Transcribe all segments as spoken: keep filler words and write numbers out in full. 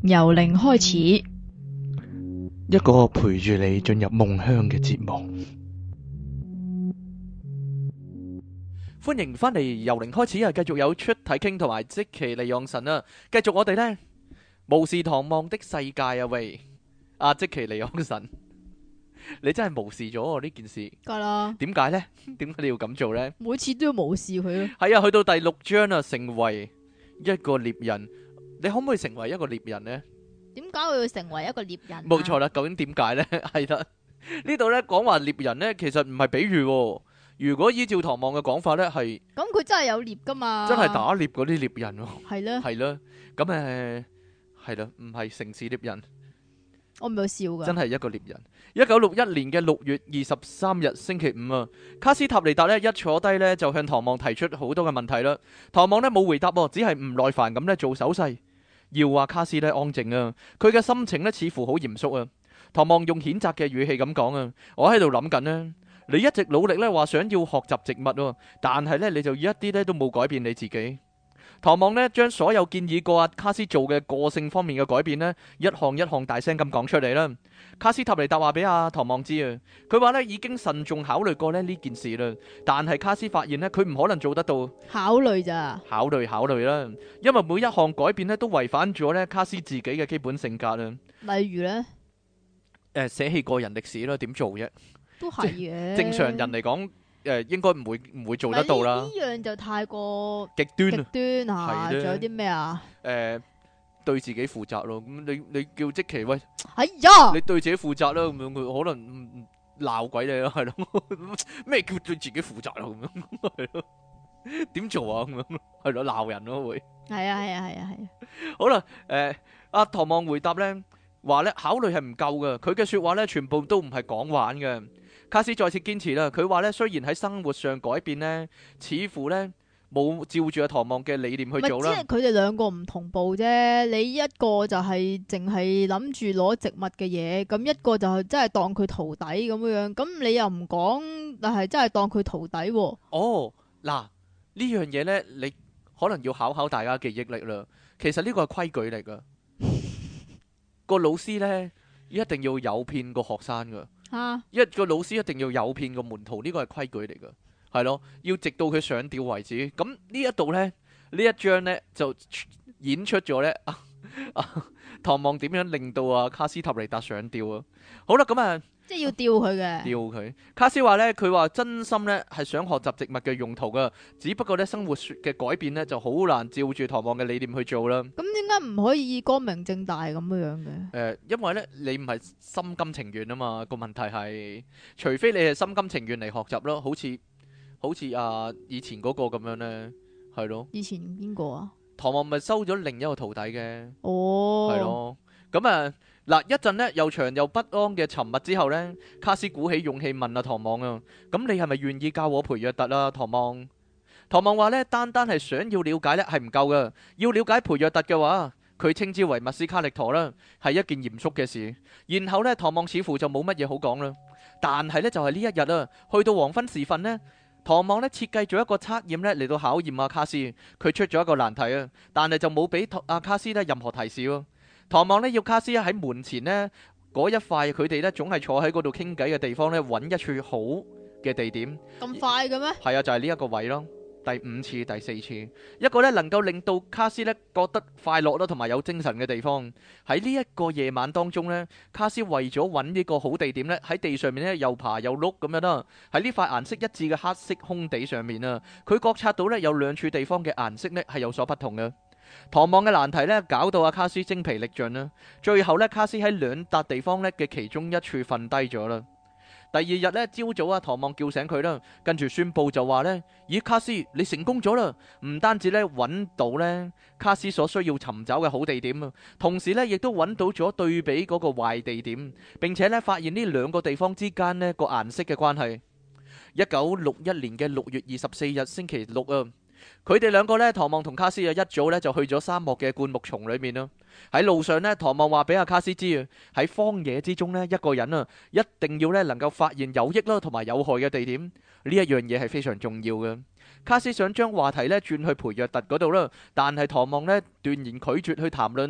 由零開始， 一個陪住你進入夢鄉嘅節目。歡迎翻嚟由零開始啊！繼續有出體傾同埋即其利昂神啊！繼續我哋呢巫士唐望的世界啊喂！啊即其利昂神，你真係無視咗我呢件事， 梗啦， 點解呢？點解你要咁做呢？ 每次都要無視佢咯。 係啊，去到第六章啊，成為一個獵人，你可唔可以成為一個獵人呢？ 點解我要成為一個獵人啊？ 冇錯啦，究竟點解呢？係啦，呢度呢講話獵人呢，其實唔係比喻喎。如果依照唐望嘅講法呢，係咁佢真係有獵噶嘛？ 真係打獵嗰啲獵人喎。 係咧， 係啦，咁誒係啦，唔係城市獵人， 我唔係笑噶。 真係一個獵人。一九六一年嘅六月二十三日星期五啊，卡斯塔尼達呢一坐低呢，就向唐望提出好多嘅問題啦。唐望呢冇回答喎，只係唔耐煩咁呢做手勢，要話卡斯呢安靜啊。佢嘅心情呢似乎好嚴肅啊。唐望用譴責嘅語氣咁講啊，我喺度諗緊呢。你一直努力咧，話想要學習植物喎，但係咧你就一啲咧都冇改變你自己。唐望呢將所有建議過阿卡斯做嘅個性方面嘅改變呢，一項一項大聲咁講出嚟啦。卡斯塔尼達話俾阿唐望知啊，佢話呢已經慎重考慮過咧呢件事啦，但係卡斯發現呢，佢唔可能做得到。 考慮咋？ 考慮考慮啦，因為每一項改變呢都違反咗呢卡斯自己嘅基本性格啊。 例如呢， 誒捨棄個人歷史啦，點做啫？ 都係嘅。 正常人嚟講，誒應該唔會唔會做得到啦。 呢樣就太過極端極啊！ 端嚇， 係咧仲有啲咩啊？ 誒對自己負責咯。咁你你叫即其喂， 哎呀， 你對自己負責啦。咁樣佢可能唔唔鬧鬼你咯，係咯？咩叫對自己負責啊？咁樣係咯？點做啊？咁樣係咯？鬧人咯會。 係啊係啊係啊係啊。 好啦，誒阿唐望回答咧，話咧考慮係唔夠嘅，佢嘅説話咧全部都唔係講玩嘅。卡斯再次堅持啦，佢話咧雖然喺生活上改變呢，似乎咧冇照住阿唐望嘅理念去做啦。 咪只係佢哋兩個唔同步啫。你一個就係淨係諗住攞植物嘅嘢，咁一個就係真係當佢徒弟咁樣。咁你又唔講，但係真係當佢徒弟喎。 哦，嗱呢樣嘢呢，你可能要考考大家記憶力啦。其實呢個係規矩嚟噶，個老師呢，一定要誘騙個學生噶。 嚇！ 一個老師一定要誘騙個門徒，呢個係規矩嚟噶，係咯，要直到佢上吊為止。咁呢一度呢，呢一章呢，就演出咗呢，啊啊、唐望點樣令到啊卡斯塔尼達上吊啊？好啦，咁啊。 即係要吊佢嘅， 吊佢。卡斯話呢，佢話真心呢係想學習植物嘅用途噶，只不過呢生活嘅改變呢就好難照住唐望嘅理念去做啦。 咁點解唔可以光明正大咁樣樣嘅？ 誒、呃，因為呢你唔係心甘情願啊嘛，個問題係，除非你係心甘情願嚟學習咯，好似好似啊以前嗰個咁樣呢，係咯。 以前邊個啊？ 唐望咪收咗另一個徒弟嘅， 哦， 係咯。咁啊嗱，一陣呢又長又不安嘅沉默之後呢，卡斯鼓起勇氣問阿、啊、唐望啊，咁你係咪願意教我培約特啊？唐望，唐望話呢，單單係想要了解呢係唔夠噶，要了解培約特嘅話，佢稱之為密斯卡力陀啦，係一件嚴肅嘅事。然後呢，唐望似乎就冇乜嘢好講啦。但係呢，就係、是、呢一日啊，去到黃昏時分呢，唐望呢設計咗一個測驗呢嚟到考驗阿、啊、卡斯，佢出咗一個難題啊，但係就冇俾阿卡斯呢任何提示喎。唐望呢要卡斯喺門前呢嗰一塊，佢哋呢總係坐喺嗰度傾偈嘅地方呢，揾一處好嘅地點。 咁快嘅咩？ 係啊，就係呢一個位咯。第五次、第四次，一個呢能夠令到卡斯呢覺得快樂啦，同埋有精神嘅地方。喺呢一個夜晚當中呢，卡斯為咗揾呢個好地點呢，喺地上面呢又爬又碌咁樣啦。喺呢塊顏色一致嘅黑色空地上面啊，佢覺察到呢有兩處地方嘅顏色呢係有所不同嘅。唐望嘅難題呢，搞到阿卡斯精疲力盡啦。最後呢，卡斯喺兩笪地方呢嘅其中一處瞓低咗啦。第二日呢，朝早啊，唐望叫醒佢啦，跟住宣布就話呢：咦，卡斯，你成功咗啦！唔單止呢揾到呢卡斯所需要尋找嘅好地點啊，同時呢亦都揾到咗對比嗰個壞地點，並且呢發現呢兩個地方之間呢個顏色嘅關係。一九六一年嘅六月二十四日星期六啊。佢哋兩個呢，唐望同卡斯啊，一早呢就去咗沙漠嘅灌木叢裏面啦。喺路上呢，唐望話俾阿卡斯知啊，喺荒野之中呢，一個人啊，一定要呢能夠發現有益啦同埋有害嘅地點，呢一樣嘢係非常重要嘅。卡斯想將話題呢轉去培約特嗰度啦，但係唐望呢斷然拒絕去談論啦。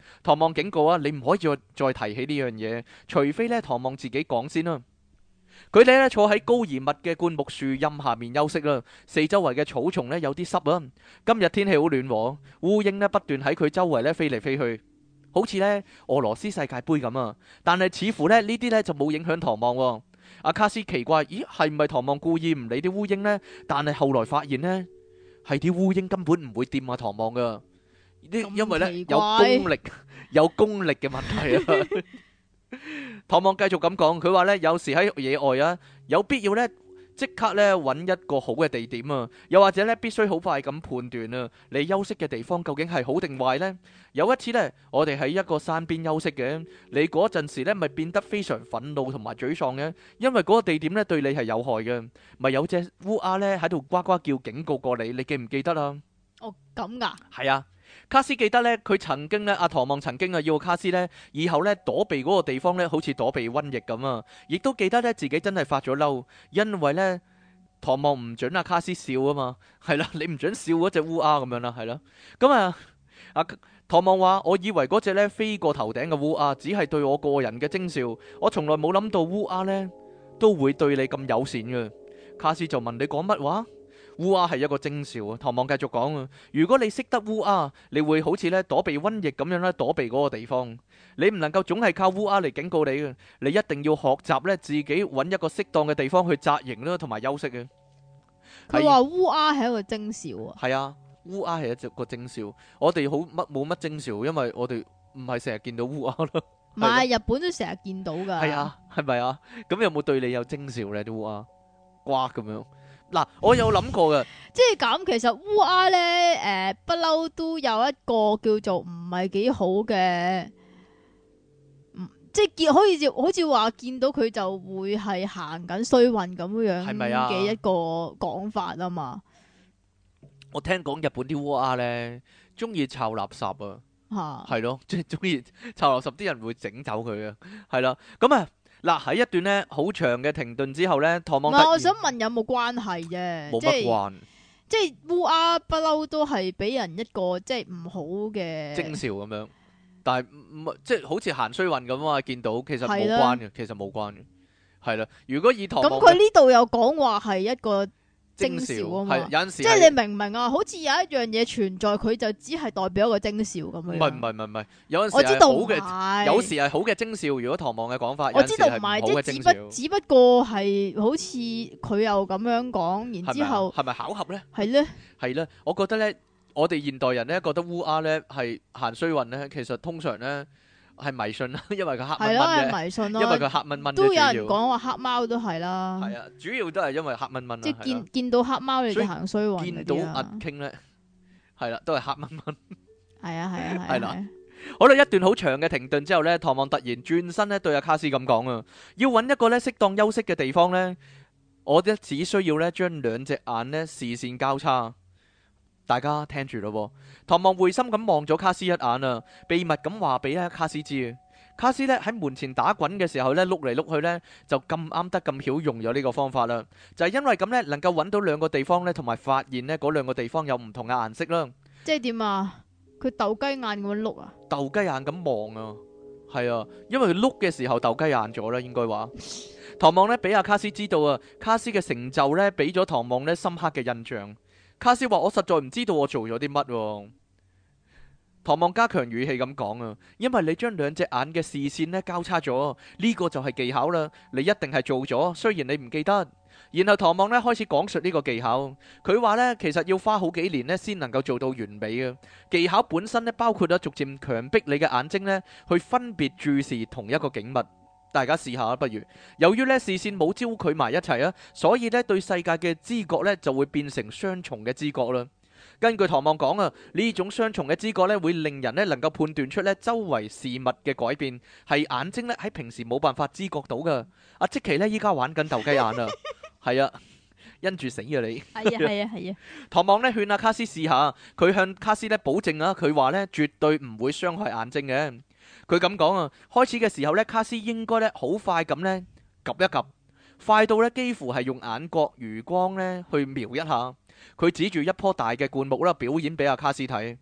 唐望警告啊，你唔可以再再提起呢樣嘢，除非呢唐望自己講先啦。佢哋呢坐喺高而密嘅灌木樹蔭下面休息啦，四周圍嘅草叢呢有啲濕啊。今日天氣好暖和，烏蠅呢不斷喺佢周圍呢飛嚟飛去，好似呢俄羅斯世界盃咁啊。但係似乎呢呢啲呢就冇影響唐望喎。阿卡斯奇怪，咦係唔係唐望故意唔理啲烏蠅呢？但係後來發現呢，係啲烏蠅根本唔會掂阿唐望噶，因為呢有功力有功力嘅問題啊。唐望繼續咁講，佢話呢，有時喺野外啊，有必要呢即刻呢揾一個好嘅地點啊，又或者呢必須好快咁判斷啊，你休息嘅地方究竟係好定壞呢？有一次呢，我哋喺一個山邊休息嘅，你嗰陣時呢咪變得非常憤怒同埋沮喪嘅，因為嗰個地點呢對你係有害嘅，咪有隻烏鴉呢喺度呱呱叫警告過你，你記唔記得啊？ 哦，咁噶？ 係啊。卡斯記得呢，佢曾經呢，阿唐望曾經啊要卡斯呢，以後呢躲避嗰個地方呢，好似躲避瘟疫咁啊！亦都記得呢，自己真係發咗嬲，因為呢，唐望唔准阿卡斯笑啊嘛，係啦，你唔准笑嗰隻烏鴉咁樣啦，係啦，咁啊，阿唐望話：我以為嗰隻呢飛過頭頂嘅烏鴉只係對我個人嘅徵兆，我從來冇諗到烏鴉呢都會對你咁友善嘅。卡斯就問你講乜話？烏鴉係一個徵兆啊！唐望繼續講啊，如果你識得烏鴉，你會好似咧躲避瘟疫咁樣咧躲避嗰個地方。你唔能夠總係靠烏鴉嚟警告你嘅，你一定要學習咧自己揾一個適當嘅地方去紮營啦，同埋休息嘅。 佢話烏鴉係一個徵兆啊。 係啊，烏鴉係一隻個徵兆。我哋好乜冇乜徵兆，因為我哋唔係成日見到烏鴉咯。 唔係，日本都成日見到噶。 係啊，係咪啊？咁有冇對你有徵兆咧？啲烏鴉呱咁樣。嗱，我有諗過嘅， 即係咁，其實烏鴉咧，誒，不嬲都有一個叫做唔係幾好嘅，即係見，好似好似話見到佢就會係行緊衰運咁樣係咪啊？ 嘅一個講法啊嘛。 我聽講日本啲烏鴉咧，中意摷垃圾啊，係咯，即係中意摷垃圾，啲人會整走佢啊，係啦，咁啊。嗱，喺一段呢好長嘅停頓之後呢，唐望突然， 我想問有冇關係啫？ 冇乜關， 即係烏鴉不嬲都係俾人一個即係唔好嘅徵兆咁樣，但係唔即係好似行衰運咁啊！見到其實冇關嘅，其實冇關嘅，係啦。如果以唐望， 咁佢呢度有講話係一個徵兆啊嘛， 有陣時即係你明唔明啊？好似有一樣嘢存在，佢就只係代表一個徵兆咁樣。 唔係唔係唔係唔係，有陣時我知道係好嘅，有時係好嘅徵兆。如果唐望嘅講法， 我知道唔係， 即係只不只不過係好似佢又咁樣講，然之後係咪巧合咧？ 係咧， 係咧。我覺得咧，我哋現代人咧覺得烏鴉咧係行衰運咧，其實通常咧。係迷信啦，因為佢黑蚊蚊係迷信咯， 因為佢黑蚊蚊都有人講話黑貓都係啦。 係啊，主要都係因為黑蚊蚊。 即係見見到黑貓你就行衰運。 見到阿傾咧，係啦，都係黑蚊蚊。 係啊係啊係啦。好啦，一段好長嘅停頓之後咧，唐望突然轉身咧對阿卡斯咁講啊，要揾一個咧適當休息嘅地方咧，我咧只需要咧將兩隻眼咧視線交叉。大家聽住咯，唐望會心咁望咗卡斯一眼啊，秘密咁話俾咧卡斯知。卡斯咧喺門前打滾嘅時候咧，碌嚟碌去咧，就咁啱得咁巧用咗呢個方法啦。就係因為咁咧，能夠揾到兩個地方咧，同埋發現咧嗰兩個地方有唔同嘅顏色啦。 即係點啊？佢鬥雞眼咁樣碌啊？ 鬥雞眼咁望啊，係啊，因為佢碌嘅時候鬥雞眼咗啦，應該話。唐望咧俾阿卡斯知道啊，卡斯嘅成就咧俾咗唐望咧深刻嘅印象。卡斯話：我實在唔知道我做咗啲乜。唐望加強語氣咁講啊，因為你將兩隻眼嘅視線咧交叉咗，呢個就係技巧啦。你一定係做咗，雖然你唔記得。然後唐望咧開始講述呢個技巧。佢話呢，其實要花好幾年咧先能夠做到完美嘅技巧。本身咧包括咗逐漸強迫你嘅眼睛咧去分別注視同一個景物。大家試下不如。由於咧視線冇焦距埋一齊啊，所以咧對世界嘅知覺咧就會變成雙重嘅知覺啦。根據唐望講啊，呢種雙重嘅知覺咧會令人咧能夠判斷出咧周圍事物嘅改變，係眼睛咧喺平時冇辦法知覺到噶。阿積奇咧依家玩緊鬥雞眼啊，係啊，因住死啊你。係啊係啊係啊。 唐望咧勸阿卡斯試下，佢向卡斯咧保證啊，佢話咧絕對唔會傷害眼睛嘅。佢咁講啊，開始嘅時候咧，卡斯應該咧好快咁咧，及一及，快到咧幾乎係用眼角餘光咧去瞄一下。佢指住一棵大嘅灌木啦，表演俾阿卡斯睇。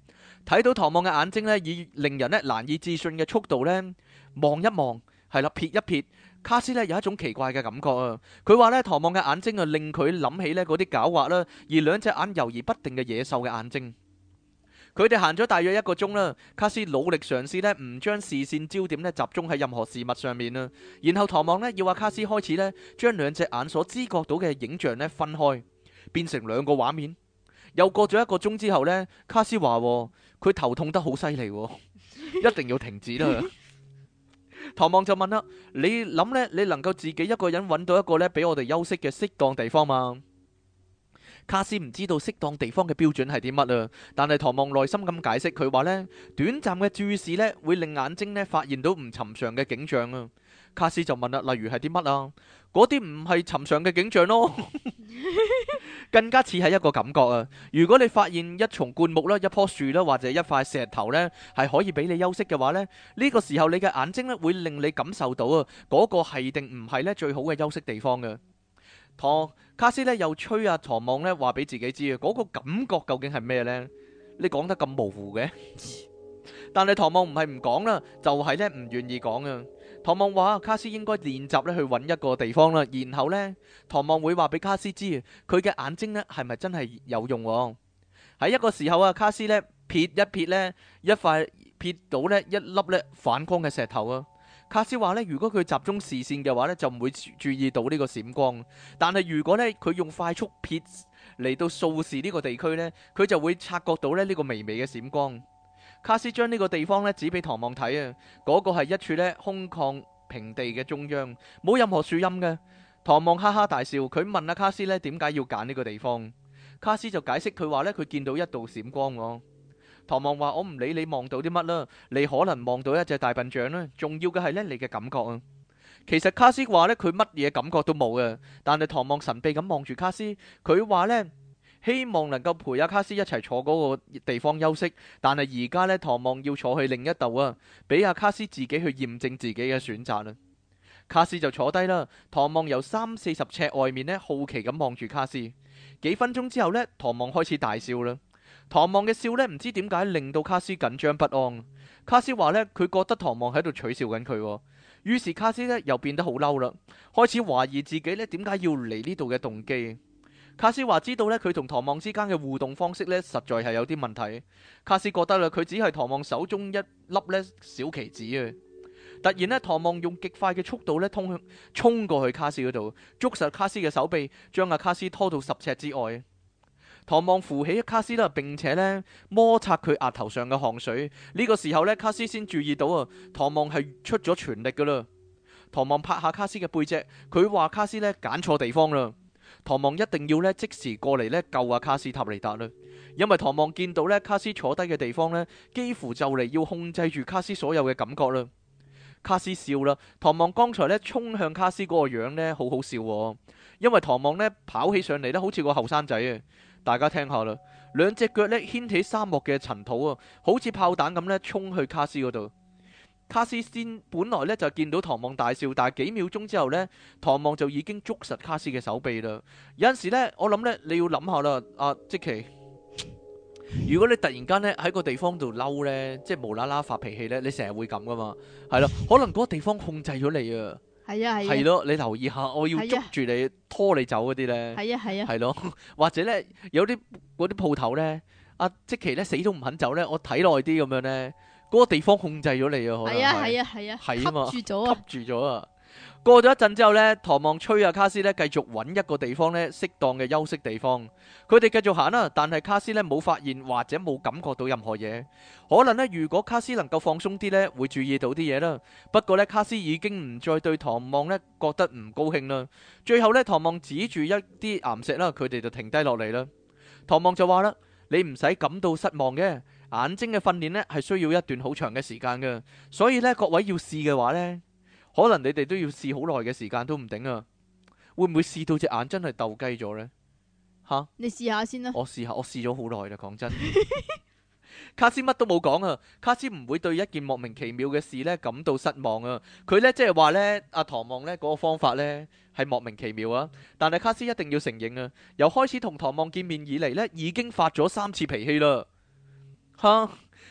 睇到唐望嘅眼睛呢，以令人咧難以置信嘅速度呢望一望，係啦，瞥一瞥。卡斯呢有一種奇怪嘅感覺啊！佢話呢，唐望嘅眼睛啊，令佢諗起呢嗰啲狡猾啦，而兩隻眼猶豫不定嘅野獸嘅眼睛。佢哋行咗大約一個鐘啦，卡斯努力嘗試呢唔將視線焦點呢集中喺任何事物上面啦。然後唐望呢要話卡斯開始呢將兩隻眼所知覺到嘅影像呢分開，變成兩個畫面。又過咗一個鐘之後呢，卡斯話佢頭痛得好犀利，一定要停止啦。唐望就問啦：你諗呢？你能夠自己一個人揾到一個呢俾我哋休息嘅適當地方嗎？卡斯唔知道適當地方嘅標準係啲乜啊，但係唐望耐心咁解釋，佢話呢，短暫嘅注視呢會令眼睛呢發現到唔尋常嘅景象啊。卡斯就問啦：例如係啲乜啊？嗰啲唔係尋常嘅景象咯，更加似係一個感覺啊！如果你發現一叢灌木啦、一棵樹啦，或者一塊石頭呢，係可以俾你休息嘅話呢，呢個時候你嘅眼睛呢會令你感受到啊，嗰個係定唔係呢最好嘅休息地方嘅。唐卡斯呢又吹啊唐望呢話俾自己知啊，嗰個感覺究竟係咩呢？你講得咁模糊嘅，但係唐望唔係唔講啦，就係呢唔願意講啊。唐望話卡斯應該練習咧去揾一個地方啦，然後呢，唐望會話俾卡斯知佢嘅眼睛呢係咪真係有用喎。喺一個時候啊，卡斯呢瞥一瞥呢一塊瞥到呢一粒呢反光嘅石頭啊。卡斯話呢，如果佢集中視線嘅話呢，就唔會注意到呢個閃光，但係如果呢，佢用快速瞥嚟到掃視呢個地區呢，佢就會察覺到咧呢個微微嘅閃光。卡斯將呢個地方咧指俾唐望睇啊，嗰個係一處咧空曠平地嘅中央，冇任何樹蔭嘅。唐望哈哈大笑，佢問阿卡斯咧點解要揀呢個地方。卡斯就解釋佢話咧佢見到一道閃光喎。唐望話：我唔理你望到啲乜啦，你可能望到一隻大笨象啦，重要嘅係咧你嘅感覺啊。其實卡斯話咧佢乜嘢感覺都冇嘅，但係唐望神秘咁望住卡斯，佢話咧，希望能夠陪阿卡斯一齊坐嗰個地方休息，但係而家呢，唐望要坐去另一度啊，俾阿卡斯自己去驗證自己嘅選擇啦。卡斯就坐低啦，唐望由三四十尺外面呢，好奇咁望住卡斯。幾分鐘之後呢，唐望開始大笑啦。唐望嘅笑呢，唔知點解令到卡斯緊張不安。卡斯話呢，佢覺得唐望喺度取笑緊佢，於是卡斯呢又變得好嬲啦，開始懷疑自己呢點解要嚟呢度嘅動機。卡斯話知道咧，佢同唐望之間嘅互動方式咧，實在係有啲問題。卡斯覺得啦，佢只係唐望手中一粒咧小棋子啊！突然咧，唐望用極快嘅速度咧，通向衝過去卡斯嗰度，捉實卡斯嘅手臂，將阿卡斯拖到十尺之外。唐望扶起卡斯啦，並且咧摩擦佢額頭上嘅汗水。呢個時候咧，卡斯先注意到啊，唐望係出咗全力噶啦。唐望拍下卡斯嘅背脊，佢話卡斯咧揀錯地方啦。唐望一定要咧即時過嚟咧救阿卡斯塔尼達啦，因為唐望見到咧卡斯坐低嘅地方咧，幾乎就嚟要控制住卡斯所有嘅感覺啦。卡斯笑啦，唐望剛才咧衝向卡斯嗰個樣咧好好笑喎，因為唐望咧跑起上嚟咧好似個後生仔啊！大家聽下啦，兩隻腳咧掀起沙漠嘅塵土啊，好似炮彈咁咧衝去卡斯嗰度。卡斯先本來咧就見到唐望大笑，但係幾秒鐘之後呢，唐望就已經捉實卡斯嘅手臂啦。有陣時咧，我諗呢，你要諗下啦，阿即奇，如果你突然間咧喺個地方度嬲呢，即係無啦啦發脾氣呢，你成日會咁噶嘛？係咯，可能嗰個地方控制咗你啊。 係啊係。係咯，你留意下，我要捉住你拖你走嗰啲呢。係啊係啊。係咯，或者呢，有啲嗰啲鋪頭呢，阿即奇呢死都唔肯走呢，我睇耐啲咁樣呢。嗰個地方控制咗你啊，可能係啊係啊係啊，係啊嘛，吸住咗啊，吸住咗啊。過咗一陣之後呢，唐望吹阿卡斯呢繼續揾一個地方呢適當嘅休息地方。佢哋繼續行啦，但係卡斯呢冇發現或者冇感覺到任何嘢。可能呢，如果卡斯能夠放鬆啲呢，會注意到啲嘢啦。不過呢，卡斯已經唔再對唐望呢覺得唔高興啦。最後呢，唐望指住一啲岩石啦，佢哋就停低落嚟啦。唐望就話啦：你唔使感到失望嘅。眼睛嘅訓練呢係需要一段好長嘅時間嘅，所以呢，各位要試嘅話呢，可能你哋都要試好耐嘅時間都唔定啊！會唔會試到隻眼真係鬥雞咗呢？吓，你試下先啦。我試下，我試咗好耐啦，講真。卡斯乜都冇講啊！卡斯唔會對一件莫名其妙嘅事呢感到失望啊！佢呢，即係話呢，阿唐望呢嗰個方法呢係莫名其妙啊！但係卡斯一定要承認啊，由開始同唐望見面以嚟呢，已經發咗三次脾氣啦。吓，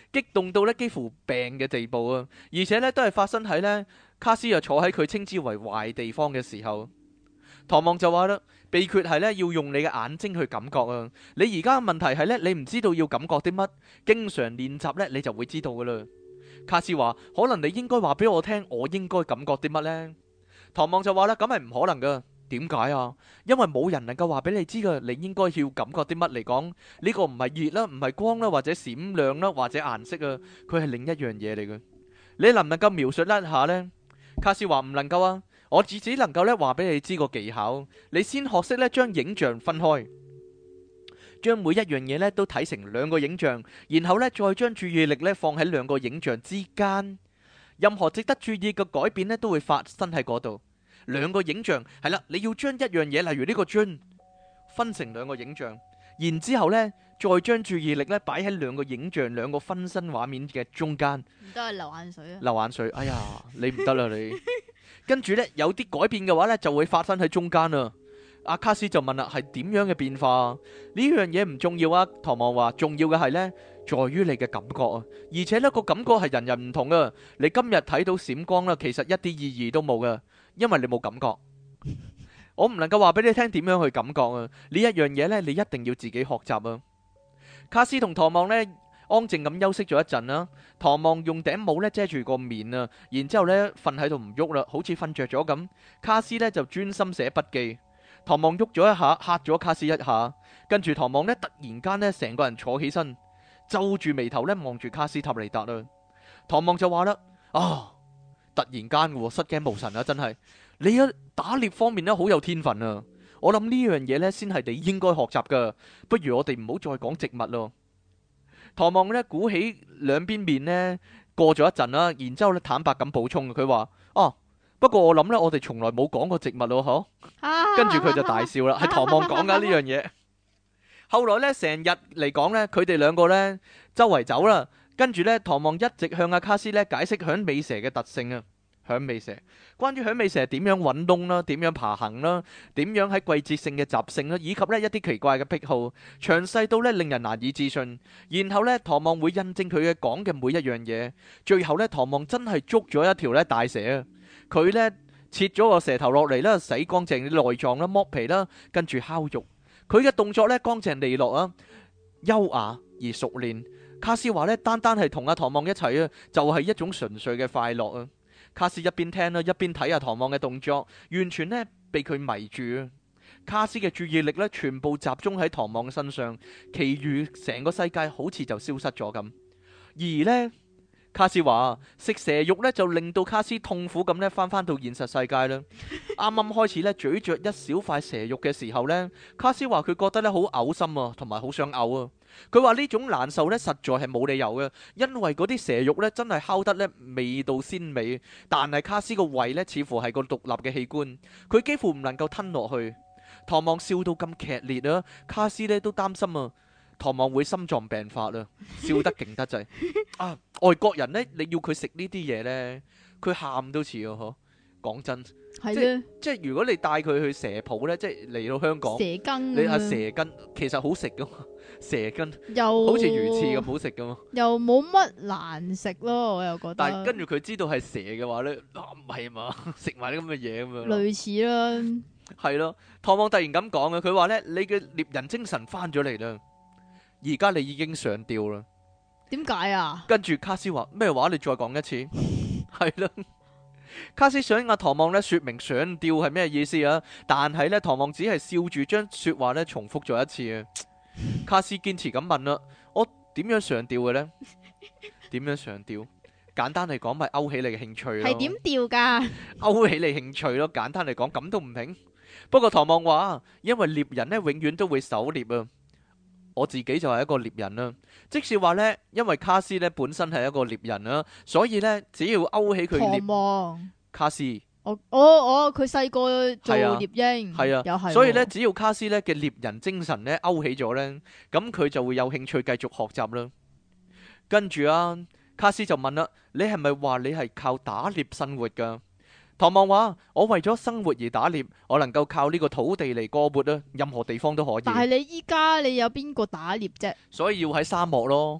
激動到咧幾乎病嘅地步啊！而且咧都係發生喺咧卡斯啊坐喺佢稱之為壞地方嘅時候。唐望就話啦，秘訣係咧要用你嘅眼睛去感覺啊！你而家嘅問題係咧，你唔知道要感覺啲乜，經常練習咧，你就會知道噶啦。卡斯話：可能你應該話俾我聽，我應該感覺啲乜呢？唐望就話啦，咁係唔可能噶。點解啊？因為冇人能夠話俾你知噶，你應該要感覺啲乜嚟講？呢個唔係熱啦，唔係光啦，或者閃亮啦，或者顏色啊，佢係另一樣嘢嚟嘅。你能唔能夠描述一下呢？卡斯話唔能夠啊，我只只能夠咧話俾你知個技巧。你先學識咧將影像分開，將每一樣嘢咧都睇成兩個影像，然後咧再將注意力咧放喺兩個影像之間。任何值得注意嘅改變咧都會發生喺嗰度。兩個影像係啦，你要將一樣嘢，例如呢個樽，分成兩個影像，然之後呢再將注意力咧擺喺兩個影像、兩個分身畫面嘅中間。 唔得啊，流眼水啊！ 流眼水，哎呀，你唔得啦你。跟住呢，有啲改變嘅話呢，就會發生喺中間啦。阿卡斯就問啦，係點樣嘅變化？呢樣嘢唔重要啊。唐望話，重要嘅係呢，在於你嘅感覺啊。而且呢個感覺係人人唔同啊。你今日睇到閃光啦，其實一啲意義都冇噶。因為你冇感覺，我唔能夠話俾你聽點樣去感覺啊！呢一樣嘢呢，你一定要自己學習啊！卡斯同唐望呢，安靜咁休息咗一陣啦。唐望用頂帽呢遮住個面啊，然之後呢瞓喺度唔喐啦，好似瞓着咗咁。卡斯呢就專心寫筆記。唐望喐咗一下，嚇咗卡斯一下，跟住唐望呢突然間呢成個人坐起身，皺住眉頭呢望住卡斯塔尼達啦。唐望就話啦：啊！突然間嘅，失驚無神啊！真係你喺打獵方面咧好有天分啊！我諗呢樣嘢呢先係你應該學習噶。不如我哋唔好再講植物咯。唐望呢鼓起兩邊面呢，過咗一陣啦，然之後咧坦白咁補充，佢話：哦，不過我諗呢，我哋從來冇講過植物咯，嗬。跟住佢就大笑啦，係唐望講噶呢樣嘢。後來呢，成日嚟講呢，佢哋兩個呢周圍走啦。跟住呢，唐望一直向阿卡斯呢解釋響尾蛇嘅特性啊，響尾蛇，關於響尾蛇點樣揾窿啦，點樣爬行啦，點樣喺季節性嘅習性啦，以及呢一啲奇怪嘅癖好，詳細到呢令人難以置信。然後呢，唐望會印證佢嘅講嘅每一樣嘢。最後呢，唐望真係捉咗一條呢大蛇啊！佢呢切咗個蛇頭落嚟啦，洗乾淨啲內臟啦，剝皮啦，跟住烤肉。佢嘅動作呢，乾淨利落啊，優雅而熟練。卡斯話呢，單單係同阿唐望一齊啊，就係一種純粹嘅快樂啊！卡斯一邊聽啦，一邊睇阿唐望嘅動作，完全呢被佢迷住啊！卡斯嘅注意力呢，全部集中喺唐望身上，其餘成個世界好似就消失咗咁。而呢，卡斯話食蛇肉呢，就令到卡斯痛苦咁呢翻返到現實世界啦。啱啱開始呢，咀嚼一小塊蛇肉嘅時候呢，卡斯話佢覺得呢好嘔心啊，同埋好想嘔啊。佢話呢種難受呢，實在係冇理由嘅，因為嗰啲蛇肉呢，真係烤得呢味道鮮美，但係卡斯個胃呢，似乎係個獨立嘅器官，佢幾乎唔能夠吞落去。唐望笑到咁劇烈啊，卡斯呢都擔心啊，唐望會心臟病發啊，笑得勁得滯啊！外國人呢，你要佢食呢啲嘢呢，佢喊都似啊！嗬，講真。 係咧， 即係如果你帶佢去蛇鋪呢，即係嚟到香港， 蛇羹， 你阿蛇羹其實好食噶嘛，蛇羹又好似魚翅咁好食噶嘛， 又冇乜難食咯，我又覺得。 但係跟住佢知道係蛇嘅話呢，唔係嘛，食埋啲咁嘅嘢咁樣。 類似啦， 係咯，唐望突然咁講嘅，佢話呢：「你嘅獵人精神翻咗嚟啦，而家你已經上吊啦。」 點解啊？ 跟住卡斯話咩話？你再講一次，係咯。卡斯想阿唐望咧說明上吊係咩意思啊？但係咧唐望只係笑住將說話咧重複咗一次啊。卡斯堅持咁問啦：我點樣上吊嘅呢？點樣上吊？簡單嚟講，咪勾起你嘅興趣咯。 係點吊噶？ 勾起你興趣咯。簡單嚟講，咁都唔明。不過唐望話，因為獵人咧永遠都會狩獵啊。我自己就係一個獵人啦，即是話呢，因為卡斯呢本身係一個獵人啦，所以呢，只要勾起佢獵望卡斯， 我我我佢細個做獵鷹， 係啊， 又係， 所以呢，只要卡斯呢嘅獵人精神呢勾起咗呢，咁佢就會有興趣繼續學習啦。跟住啊，卡斯就問啦：你係咪話你係靠打獵生活噶？唐望話：我為咗生活而打獵，我能夠靠呢個土地嚟過活啊，任何地方都可以。 但係你依家你有邊個打獵啫？ 所以要喺沙漠咯，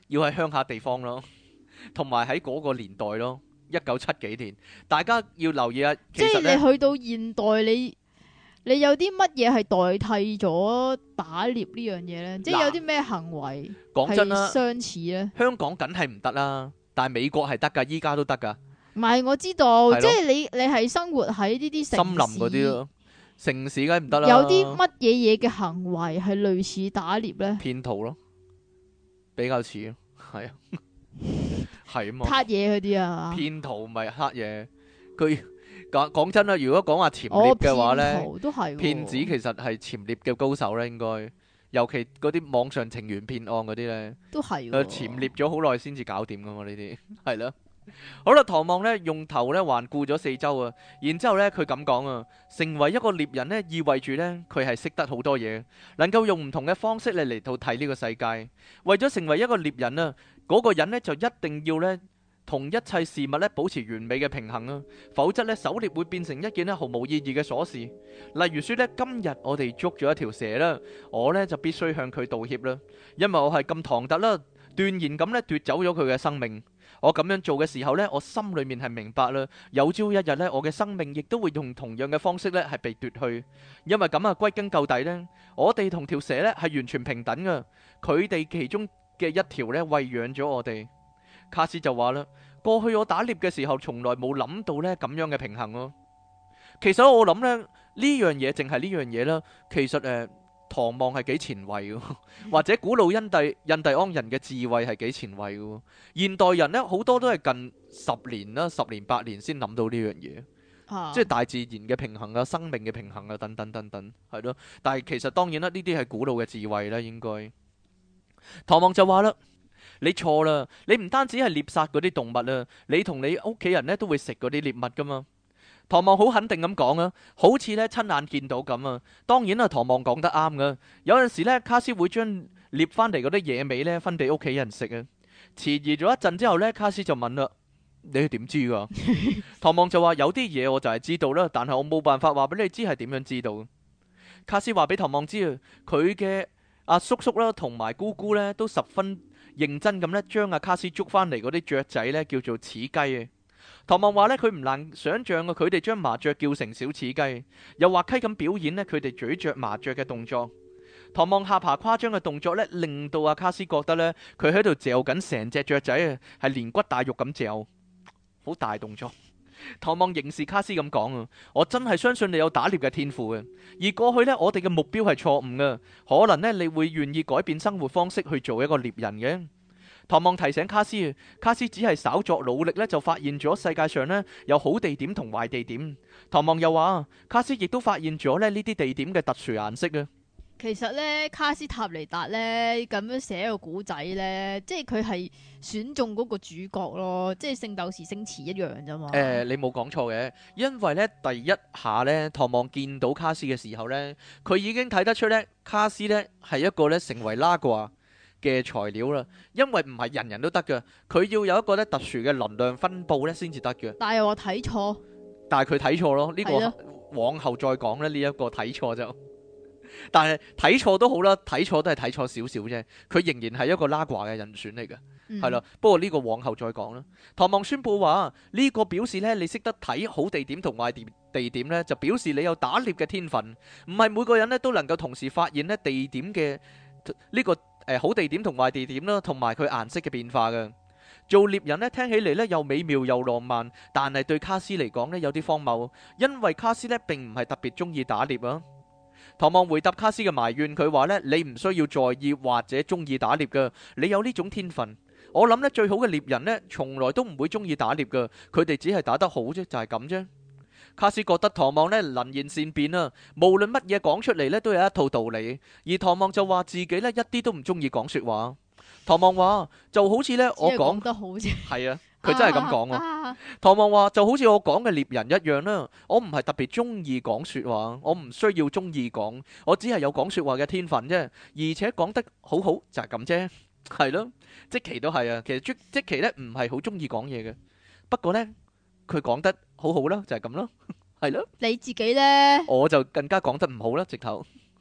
要喺鄉下地方咯，同埋喺嗰個年代咯，一九七幾年，大家要留意啊。其即係實呢， 你去到現代，你你有啲乜嘢係代替咗打獵呢樣嘢咧？即係有啲咩行為係講真啦， 相似咧？ 香港梗係唔得啦，但係美國係得㗎，依家都得㗎， 唔係我知道， 係咯即係你你係生活喺呢啲城森林嗰啲市， 咯，城市梗係唔得啦。 有啲乜嘢嘢嘅行為係類似打獵咧？ 騙徒咯，比較似咯，係啊，係啊嘛。 撻嘢嗰啲啊？ 騙徒咪黑嘢，佢講講真啦，如果講話潛哦， 獵嘅話呢， 騙徒都係喎騙子其實係潛獵嘅高手咧，應該，尤其嗰啲網上情緣騙案嗰啲呢， 都係佢喎潛獵咗好耐先至搞掂噶嘛，呢啲係咯。好啦，唐望呢用頭呢環顧咗四周啊，然之後呢佢咁講啊，成為一個獵人呢，意味住呢，佢係識得好多嘢，能夠用唔同嘅方式嚟嚟到睇呢個世界。為咗成為一個獵人啊，嗰個人呢就一定要呢，同一切事物呢保持完美嘅平衡啊，否則呢狩獵會變成一件呢毫無意義嘅瑣事。例如說呢，今日我哋捉咗一條蛇啦，我呢就必須向佢道歉啦，因為我係咁唐突啦，斷然咁呢奪走咗佢嘅生命。我咁樣做嘅時候呢，我心裏面係明白啦，有朝一日呢，我嘅生命亦都會用同樣嘅方式呢係被奪去。因為咁啊，歸根究底呢，我哋同條蛇呢係完全平等噶，佢哋其中嘅一條呢餵養咗我哋。卡斯就話啦，過去我打獵嘅時候，從來冇諗到呢咁樣嘅平衡咯。其實我諗呢，呢樣嘢淨係呢樣嘢啦，其實誒。呃唐望係幾前衛嘅，或者古老印第印第安人嘅智慧係幾前衛嘅。現代人呢，好多都係近十年啦、十年八年先諗到呢樣嘢， 啊即係大自然嘅平衡啊、生命嘅平衡啊等等等等，係咯。但係其實當然啦，呢啲係古老嘅智慧啦，應該。唐望就話啦，你錯啦，你唔單止係獵殺嗰啲動物啊，你同你屋企人呢都會食嗰啲獵物噶嘛。唐望好肯定咁講啊，好似咧親眼見到咁啊。當然啦，唐望講得啱噶。有陣時咧，卡斯會將獵翻嚟嗰啲野味咧分俾屋企人食啊。遲疑咗一陣之後咧，卡斯就問啦：你係點知噶？唐望就話：有啲嘢我就係知道啦，但係我冇辦法話俾你知係點樣知道。卡斯話俾唐望知啊，佢嘅阿叔叔啦同埋姑姑咧都十分認真咁咧，將阿卡斯捉翻嚟嗰啲雀仔咧叫做似雞啊。唐望話呢，佢唔難想象啊，佢哋將麻雀叫成小似雞，又滑稽咁表演呢，佢哋咀嚼麻雀嘅動作。唐望下巴誇張嘅動作呢，令到阿卡斯覺得呢，佢喺度嚼緊成隻雀仔啊，係連骨帶肉咁嚼，好大動作。唐望凝視卡斯咁講啊，我真係相信你有打獵嘅天賦嘅，而過去呢，我哋嘅目標係錯誤嘅，可能呢，你會願意改變生活方式去做一個獵人嘅。唐望提醒卡斯，卡斯只係稍作努力呢，就發現咗世界上呢有好地點同壞地點。唐望又話，卡斯亦都發現咗呢呢啲地點嘅特殊顏色啊。 其實咧，卡斯塔尼達咧咁樣寫個古仔咧，即係佢係選中嗰個主角咯，即係聖鬥士星矢一樣啫嘛。 誒、呃，你冇講錯嘅，因為呢第一下呢，唐望見到卡斯嘅時候呢，佢已經睇得出呢，卡斯呢係一個呢成為拉掛嘅材料啦，因為唔係人人都得嘅，佢要有一個咧特殊嘅能量分布咧先至得嘅。 但係又話睇錯， 但係佢睇錯咯，呢、這個係咯往後再講咧，呢、這、一個睇錯就，但係睇錯都好啦，睇錯都係睇錯少少啫，佢仍然係一個拉掛嘅人選嚟嘅，係啦、嗯。不過呢個往後再講啦。唐望宣布話呢、這個表示咧，你識得睇好地點同壞地地點咧，就表示你有打獵嘅天分，唔係每個人咧都能夠同時發現咧地點嘅呢、這個。誒，好地點同壞地點啦，同埋佢顏色嘅變化嘅。做獵人呢，聽起嚟呢又美妙又浪漫，但係對卡斯嚟講呢有啲荒謬，因為卡斯呢並唔係特別中意打獵啊。唐望回答卡斯嘅埋怨，佢話呢：你唔需要在意或者中意打獵噶，你有呢種天分。我諗呢最好嘅獵人呢，從來都唔會中意打獵噶，佢哋只係打得好啫，就係咁啫。卡斯覺得唐望呢能言善辯啊，無論乜嘢講出嚟呢都有一套道理。而唐望就話自己呢一啲都唔中意講說話。唐望話就好似呢我講得好啫， 係啊，佢真係咁講啊。 啊啊唐望話就好似我講嘅獵人一樣啦，我唔係特別中意講說話，我唔需要中意講，我只係有講說話嘅天分啫，而且講得好好就係咁啫，係咯。即其都係啊，其實即即其呢唔係好中意講嘢嘅，不過呢。佢講得好好啦，就係咁咯，係咯。 你自己咧， 我就更加講得唔好啦，直頭。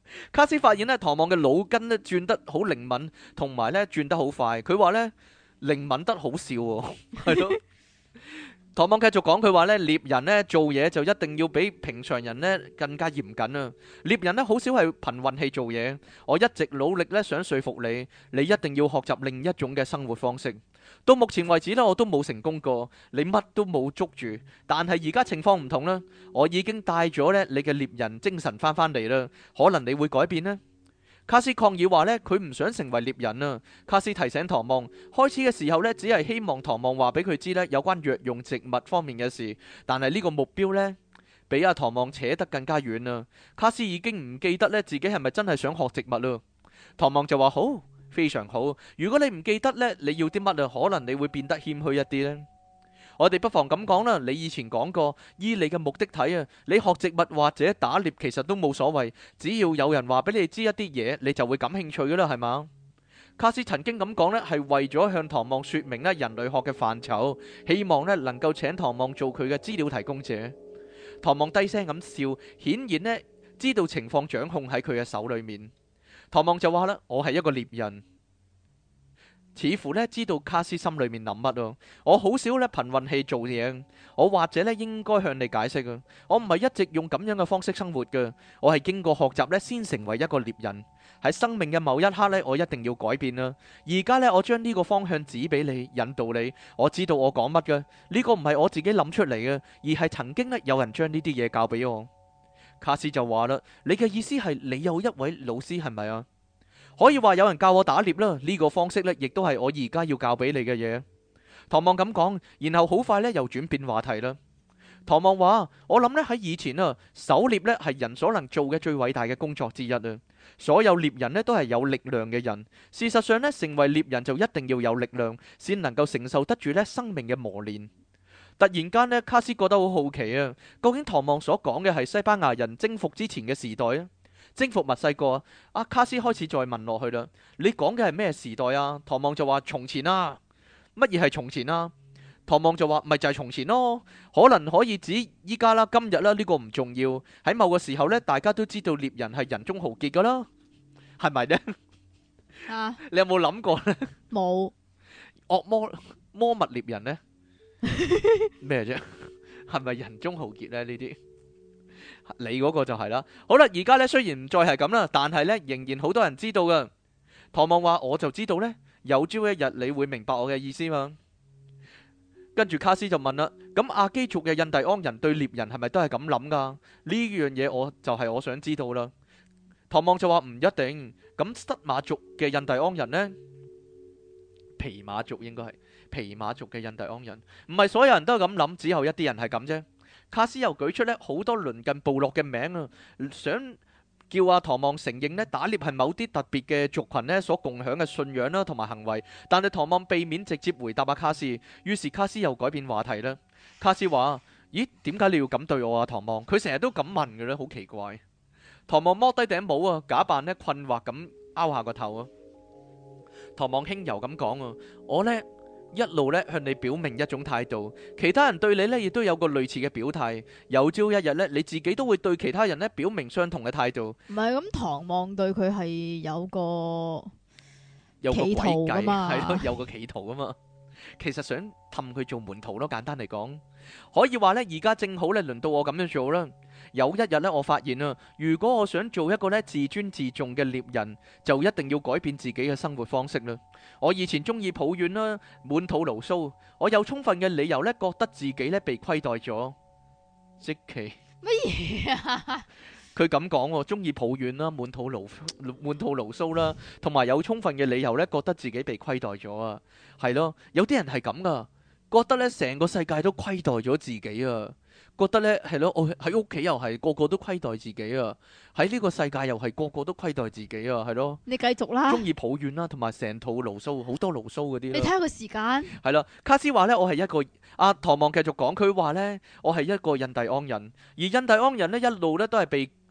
卡斯發現咧，唐望嘅腦筋咧轉得好靈敏，同埋咧轉得好快。佢話咧靈敏得好笑喎，係咯。唐望繼續講，佢話咧獵人咧做嘢就一定要比平常人咧更加嚴謹啊！獵人咧好少係憑運氣做嘢。我一直努力咧想說服你，你一定要學習另一種嘅生活方式。到目前為止咧，我都冇成功過，你乜都冇捉住。但係而家情況唔同啦，我已經帶咗咧你嘅獵人精神翻返嚟啦，可能你會改變呢。卡斯抗議話呢，佢唔想成為獵人啊。卡斯提醒唐望，開始嘅時候呢，只係希望唐望話俾佢知呢有關藥用植物方面嘅事，但係呢個目標呢，比阿唐望扯得更加遠啦。卡斯已經唔記得呢自己係咪真係想學植物啦。唐望就話好，非常好。如果你唔記得呢，你要啲乜啊？可能你會變得謙虛一啲呢。我哋不妨咁講啦，你以前講過，依你嘅目的睇啊，你學植物或者打獵其實都冇所謂，只要有人話俾你知一啲嘢，你就會感興趣噶啦，係嘛？卡斯曾經咁講呢，係為咗向唐望說明呢人類學嘅範疇，希望呢能夠請唐望做佢嘅資料提供者。唐望低聲咁笑，顯然呢知道情況掌控喺佢嘅手裏面。唐望就話啦，我係一個獵人。似乎咧知道卡斯心裏面諗乜咯，我好少咧憑運氣做嘢，我或者咧應該向你解釋啊，我唔係一直用咁樣嘅方式生活嘅，我係經過學習咧先成為一個獵人，喺生命嘅某一刻咧，我一定要改變啦。而家咧我將呢個方向指俾你，引導你，我知道我講乜嘅，呢個唔係我自己諗出嚟嘅，而係曾經咧有人將呢啲嘢教俾我。卡斯就話啦，你嘅意思係你有一位老師係咪啊？可以話有人教我打獵啦，呢個方式呢，亦都係我而家要教俾你嘅嘢。唐望咁講，然後好快呢又轉變話題啦。唐望話：我諗呢喺以前啊，狩獵呢係人所能做嘅最偉大嘅工作之一啊。所有獵人呢都係有力量嘅人。事實上呢，成為獵人就一定要有力量，先能夠承受得住呢生命嘅磨練。突然間呢，卡斯覺得好好奇啊，究竟唐望所講嘅係西班牙人征服之前嘅時代啊？征服墨西哥啊！阿卡斯開始再問落去啦。你講嘅係咩時代啊？唐望就話從前啊。乜嘢係從前啊？唐望就話咪就係從前咯。可能可以指依家啦、今日啦，呢個唔重要。喺某個時候呢，大家都知道獵人係人中豪傑噶啦，係咪呢？ 啊， 你有冇諗過呢？ 冇惡魔魔物獵人呢？咩啫？係咪人中豪傑呢？呢啲？你嗰個就係啦。好啦，而家呢，雖然唔再係咁啦，但係呢，仍然好多人知道噶。唐望話：我就知道呢，有朝一日你會明白我嘅意思嘛。跟住卡斯就問啦：咁阿基族嘅印第安人對獵人係咪都係咁諗噶？呢樣嘢我就係我想知道啦。唐望就話唔一定。咁塞馬族嘅印第安人呢？皮馬族應該係皮馬族嘅印第安人，唔係所有人都係咁諗，只有一啲人係咁啫。卡斯又舉出咧好多鄰近部落嘅名啊，想叫阿唐望承認咧打獵係某啲特別嘅族群咧所共享嘅信仰啦同埋行為，但係唐望避免直接回答阿卡斯，於是卡斯又改變話題啦。卡斯話：咦，點解你要咁對我啊？唐望，佢成日都咁問嘅咧，好奇怪。唐望剝低頂帽啊，假扮咧困惑咁拗下個頭啊。唐望輕柔咁講啊，我呢。一路咧向你表明一種態度，其他人對你呢亦都有個類似嘅表態。有朝一日呢，你自己都會對其他人呢表明相同嘅態度。 唔係咁，唐望對佢係有個有個企圖詭計， 噶嘛， 係咯，有個企圖噶嘛。其實想氹佢做門徒咯，簡單嚟講，可以話呢，而家正好呢，輪到我咁樣做啦。有一日呢，我發現啊，如果我想做一個呢自尊自重嘅獵人，就一定要改變自己嘅生活方式啦。我以前中意抱怨啦，滿肚牢騷，我有充分嘅理由呢，覺得自己呢被虧待咗。即其乜嘢啊？ 佢咁講喎，中意抱怨啦，滿肚牢滿肚牢騷啦，同埋有充分嘅理由呢，覺得自己被虧待咗啊。係咯，有啲人係咁噶，覺得呢成個世界都虧待咗自己啊。覺得呢係咯，我喺屋企又係個個都虧待自己啊，喺呢個世界又係個個都虧待自己啊，係咯。 你繼續啦。 中意抱怨啦，同埋成肚牢騷，好多牢騷嗰啲。 你睇下個時間。 係啦，卡斯話呢，我係一個阿、啊、唐望繼續講，佢話呢，我係一個印第安人，而印第安人呢，一路呢都係被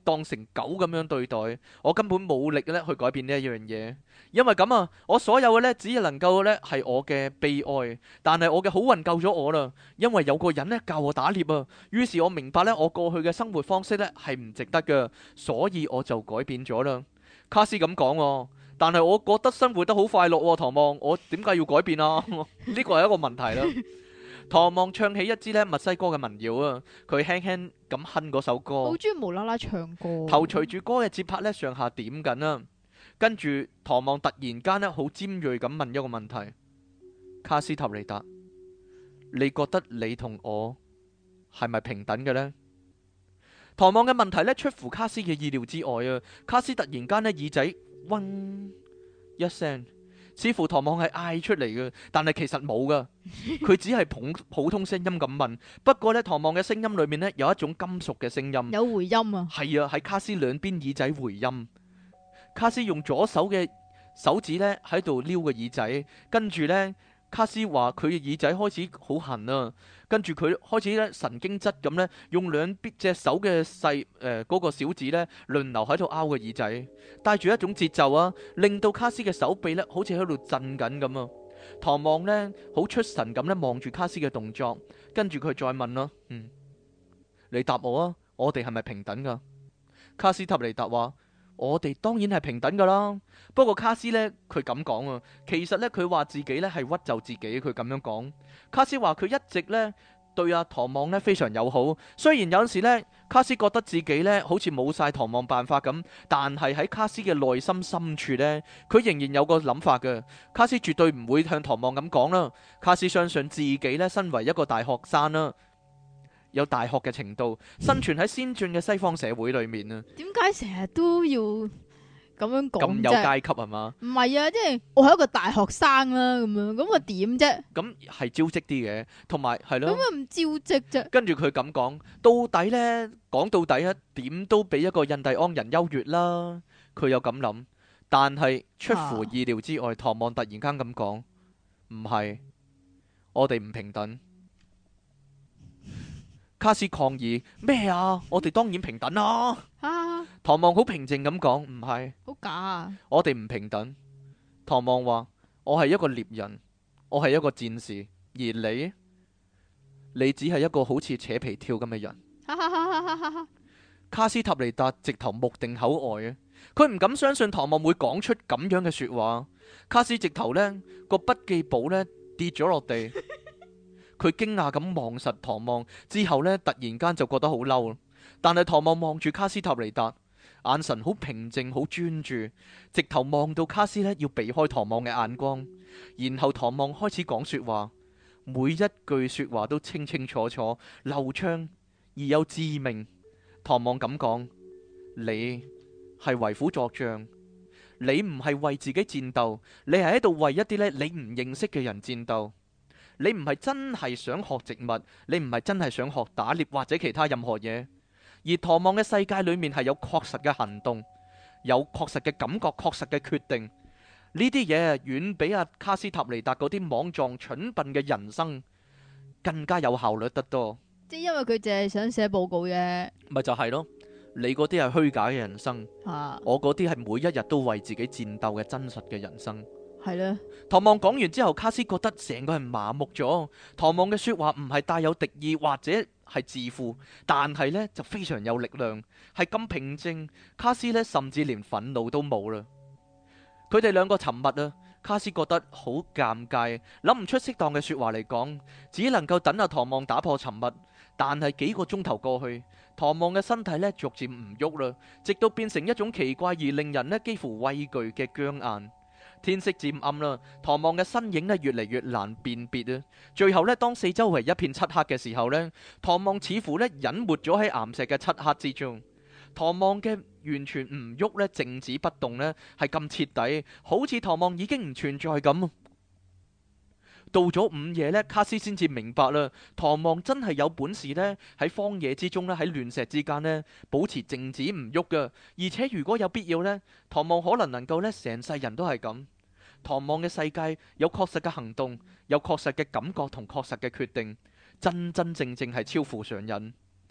當成狗咁樣對待，我根本冇力咧去改變呢一樣嘢。因為咁啊，我所有嘅呢，只能夠呢係我嘅悲哀，但係我嘅好運救咗我啦。因為有個人呢教我打獵啊，於是我明白呢，我過去嘅生活方式呢係唔值得嘅，所以我就改變咗啦。卡斯咁講喎，但係我覺得生活得好快樂喎，唐望，我點解要改變啊？呢個係一個問題啦。唐望唱起一支咧墨西哥嘅民謠啊，佢輕輕咁哼嗰首歌， 好中意無啦啦唱歌， 頭隨住歌嘅節拍咧上下點緊啊。跟住唐望突然間咧好尖銳咁問一個問題：卡斯塔尼達，你覺得你同我係咪平等嘅呢？唐望嘅問題咧出乎卡斯嘅意料之外啊！卡斯突然間咧耳仔嗡一聲。似乎唐望係嗌出嚟嘅，但係其實冇噶，佢只係普普通聲音咁問。不過呢，唐望嘅聲音裏面呢，有一種金屬嘅聲音， 有回音啊。 係啊，喺卡斯兩邊耳仔回音。卡斯用左手嘅手指呢喺度撩個耳仔，跟住呢，卡斯話佢嘅耳仔開始好痕啊。跟住佢開始咧神經質咁呢，用兩邊隻手嘅細誒嗰個小指呢輪流喺度拗個耳仔，帶住一種節奏啊，令到卡斯嘅手臂呢好似喺度震緊咁啊。唐望呢好出神咁呢望住卡斯嘅動作，跟住佢再問啦，嗯，你答我啊，我哋係咪平等噶？卡斯塔尼達話：我哋當然係平等噶啦。不過卡斯呢，佢咁講啊，其實呢，佢話自己呢係屈就自己，佢咁樣講。卡斯話佢一直呢對阿唐望呢非常友好，雖然有陣時呢卡斯覺得自己呢好似冇晒唐望辦法咁，但係喺卡斯嘅內心深處呢，佢仍然有個諗法嘅。卡斯絕對唔會向唐望咁講啦。卡斯相信自己呢身為一個大學生啦，有大學嘅程度，生存喺先進嘅西方社會裏面啊。 點解成日都要咁樣講咁有階級係嘛？ 唔係啊，即係我係一個大學生啦，咁樣咁我點啫？ 咁係招積啲嘅，同埋係咯。 咁啊唔招積啫？ 跟住佢咁講，到底呢？講到底啊，點都比一個印第安人優越啦。佢有咁諗，但係出乎意料之外，唐望突然間咁講，唔係，我哋唔平等。卡斯抗議咩啊？我哋當然平等啦。 啊！ 唐望好平靜咁講，唔係， 好假啊！ 我哋唔平等。唐望話：我係一個獵人，我係一個戰士，而你，你只係一個好似扯皮條咁嘅人。卡斯塔尼達直頭目定口呆啊！佢唔敢相信唐望會講出咁樣嘅說話。卡斯直頭呢個筆記簿呢跌咗落地。佢驚訝咁望實唐望之後呢，突然間就覺得好嬲。但係唐望望住卡斯塔尼達，眼神好平靜，好專注，直頭望到卡斯呢要避開唐望嘅眼光。然後唐望開始講說話，每一句說話都清清楚楚、流暢而又致命。唐望咁講：你係為虎作倀，你唔係為自己戰鬥，你係喺度為一啲呢你唔認識嘅人戰鬥。你唔係真係想學植物，你唔係真係想學打獵或者其他任何嘢。而唐望嘅世界裏面係有確實嘅行動，有確實嘅感覺，確實嘅決定。呢啲嘢遠比阿卡斯塔尼達嗰啲莽撞蠢笨嘅人生更加有效率得多。 即係因為佢淨係想寫報告啫， 咪就係咯。你嗰啲係虛假嘅人生， 啊、 我嗰啲係每一日都為自己戰鬥嘅真實嘅人生。 係咧。 唐望講完之後，卡斯覺得成個人麻木咗。唐望嘅說話唔係帶有敵意或者係自負，但係呢就非常有力量，係咁平靜。卡斯呢甚至連憤怒都冇啦。佢哋兩個沉默啊，卡斯覺得好尷尬，諗唔出適當嘅說話嚟講，只能夠等阿唐望打破沉默。但係幾個鐘頭過去，唐望嘅身體呢逐漸唔喐啦，直到變成一種奇怪而令人呢幾乎畏懼嘅僵硬。天色漸暗啦，唐望嘅身影呢越嚟越難辨別啊。最後呢，當四周圍一片漆黑嘅時候呢，唐望似乎呢隱沒咗喺岩石嘅漆黑之中。唐望嘅完全唔喐呢，靜止不動呢，係咁徹底，好似唐望已經唔存在咁。到咗午夜呢，卡斯先至明白啦，唐望真係有本事呢，喺荒野之中呢，喺亂石之間呢，保持靜止唔喐噶。而且如果有必要呢，唐望可能能夠呢，成世人都係咁。唐望嘅世界有確實嘅行動，有確實嘅感覺同確實嘅決定，真真正正係超乎常人。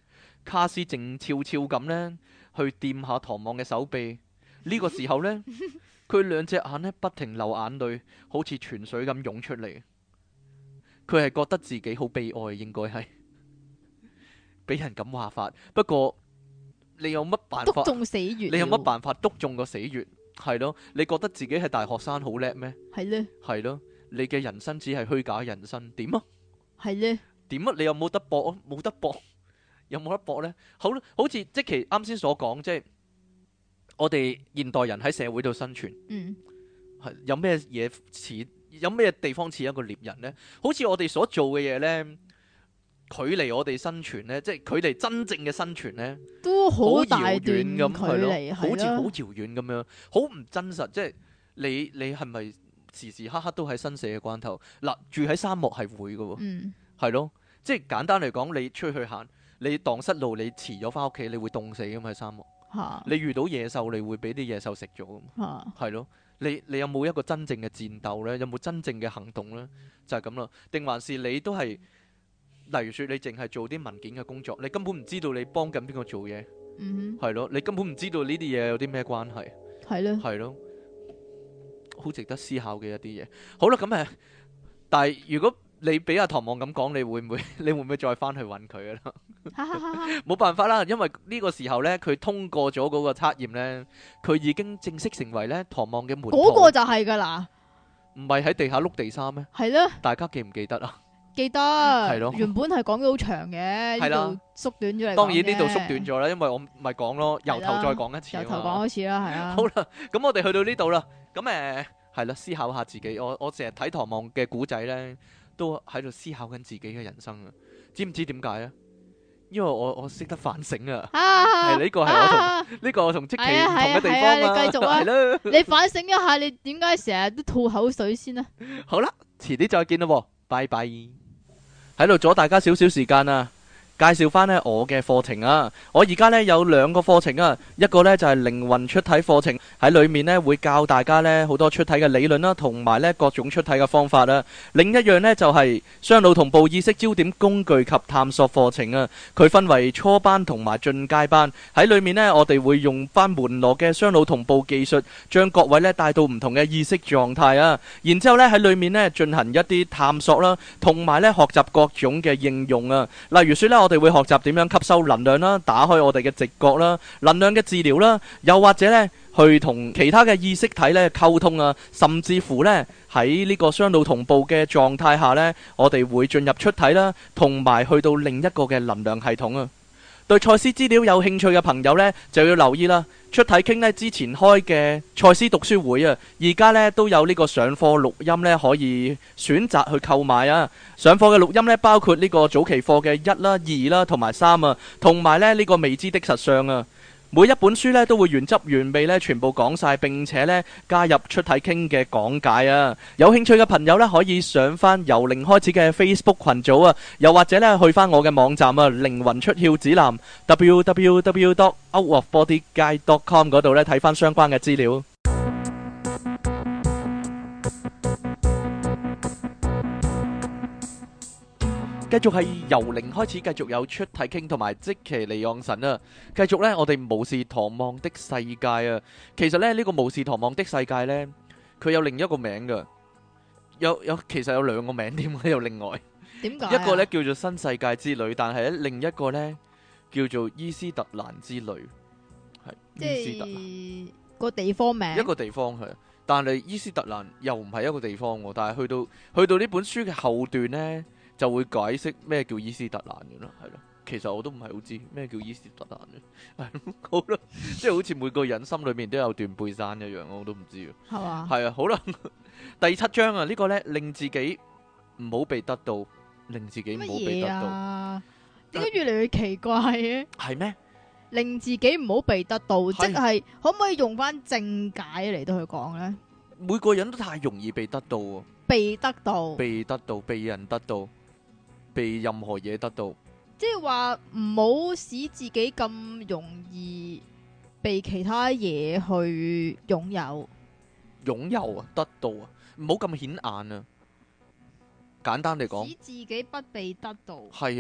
卡斯靜悄悄咁呢去掂下唐望嘅手臂。呢個時候呢，佢兩隻眼呢不停流眼淚，好似泉水咁湧出嚟。佢係覺得自己好悲哀，應該係俾人咁話法。不過你有乜辦法？ 篤中死穴。 你有乜辦法篤中個死穴？係咯，你覺得自己係大學生好叻咩？ 係咧， 係咯，你嘅人生只係虛假人生，點啊？ 係咧， 點啊？你有冇得搏啊？冇得搏，有冇得搏呢？好，好似即其啱先所講，即係我哋現代人喺社會度生存， 嗯， 係有咩嘢似？有咩地方似一個獵人呢？好似我哋所做嘅嘢呢，距離我哋生存呢，即係距離真正嘅生存呢， 都好好大遙段遠咁， 距係咯， 離， 好似好係啦， 遙遠咁樣，好唔真實。即係你你係咪時時刻刻都喺生死嘅關頭？嗱，住喺沙漠係會嘅喎， 嗯， 係咯，即係簡單嚟講，你出去行，你蕩失路，你遲咗翻屋企，你會凍死㗎嘛喺沙漠。 嚇你遇到野獸，你會俾啲野獸食咗㗎嘛， 嚇， 係咯。你你有冇一個真正嘅戰鬥呢？有冇真正嘅行動呢？就係咁啦。定還是你都係，例如説你淨係做啲文件嘅工作，你根本唔知道你幫緊邊個做嘢， 嗯係咯，你根本唔知道呢啲嘢有啲咩關係， 哼，係咧， 係咯，好值得思考嘅一啲嘢。好啦，咁誒，但係如果你俾阿唐望咁講，你會唔會你會唔會再翻去揾佢啊？ 哈哈哈哈， 冇辦法啦，因為呢個時候呢，佢通過咗嗰個測驗呢，佢已經正式成為呢唐望嘅門徒。 嗰個就係㗎啦， 唔係喺地下碌地沙咩？ 係咧， 大家記唔記得啊？ 記得， 係咯原本係講咗好長嘅， 係啦呢度縮短咗嚟講當然呢度啫縮短咗啦，因為我咪講咯，由頭係啦再講一次啊嘛。 由頭講一次啦，係啊， 好啦，咁我哋去到呢度啦，咁誒係啦，思考下自己。我我成日睇唐望嘅古仔呢，都喺度思考緊自己嘅人生啊。知唔知點解啊？因為我我識得反省啊。 啊， 係呢個係我同啊呢個我同即期係啊唔同嘅地係啊方係啊你繼續啊係啦。 你反省一下，你點解成日都吐口水先啊？ 好啦，遲啲再見啦喎，拜拜。喺度阻大家少少時間啊！介紹翻呢我嘅課程啊！我而家呢有兩個課程啊，一個呢就係靈魂出體課程，喺裏面呢會教大家呢好多出體嘅理論啦，同埋呢各種出體嘅方法啊。另一樣呢就係雙腦同步意識焦點工具及探索課程啊。佢分為初班同埋進階班，喺裏面呢我哋會用翻門羅嘅雙腦同步技術，將各位呢帶到唔同嘅意識狀態啊。然之後呢喺裏面呢進行一啲探索啦，同埋呢學習各種嘅應用啊。例如說呢。我哋會學習點樣吸收能量啦，打開我哋嘅直覺啦，能量嘅治療啦，又或者呢去同其他嘅意識體呢溝通啊，甚至乎呢喺呢個雙腦同步嘅狀態下呢，我哋會進入出體啦，同埋去到另一個嘅能量系統啊。對賽斯資料有興趣嘅朋友呢，就要留意啦。出體傾呢之前開嘅賽斯讀書會啊，而家呢都有呢個上課錄音呢，可以選擇去購買啊。上課嘅錄音呢，包括呢個早期課嘅一啦、二啦同埋三啊，同埋呢呢個未知的實相啊。每一本書呢都會原汁原味呢全部講晒，並且呢加入出體傾嘅講解啊！有興趣嘅朋友呢，可以上翻由零開始嘅 Facebook 群組啊，又或者呢去翻我嘅網站啊，靈魂出竅指南 w w w dot out of body guide dot com 嗰度呢睇翻相關嘅資料。繼續係由零開始，繼續有出體傾同埋即其離岸神啊！繼續呢，我哋無視唐望的世界啊！其實呢，呢個無視唐望的世界呢，佢有另一個名噶，有有其實有兩個名添，有另外點解啊？ 一個呢叫做新世界之旅，但係咧另一個呢叫做伊斯特蘭之旅，係伊斯特蘭即係個地方名， 一個地方係，但係伊斯特蘭又唔係一個地方喎，但係去到去到呢本書嘅後段呢，就會解釋咩叫伊斯特蘭嘅啦，係咯。其實我都唔係好知咩叫伊斯特蘭嘅，係咯，好啦，即係好似每個人心裏面都有段背山一樣，我都唔知。 係嘛？ 係啊，好啦，第七章啊，呢個呢令自己唔好被得到，令自己唔好被得乜嘢到， 啊？點解越嚟越奇怪嘅？ 係咩？ 令自己唔好被得到，即係係可唔可以用翻正解嚟到去講呢？ 每個人都太容易被得到喎， 被得到， 被得到，被人得到，被任何嘢得到。 即係話唔好使自己咁容易被其他嘢去擁有。 擁有啊，得到啊，唔好咁顯眼啊。簡單嚟講， 使自己不被得到。 係啊，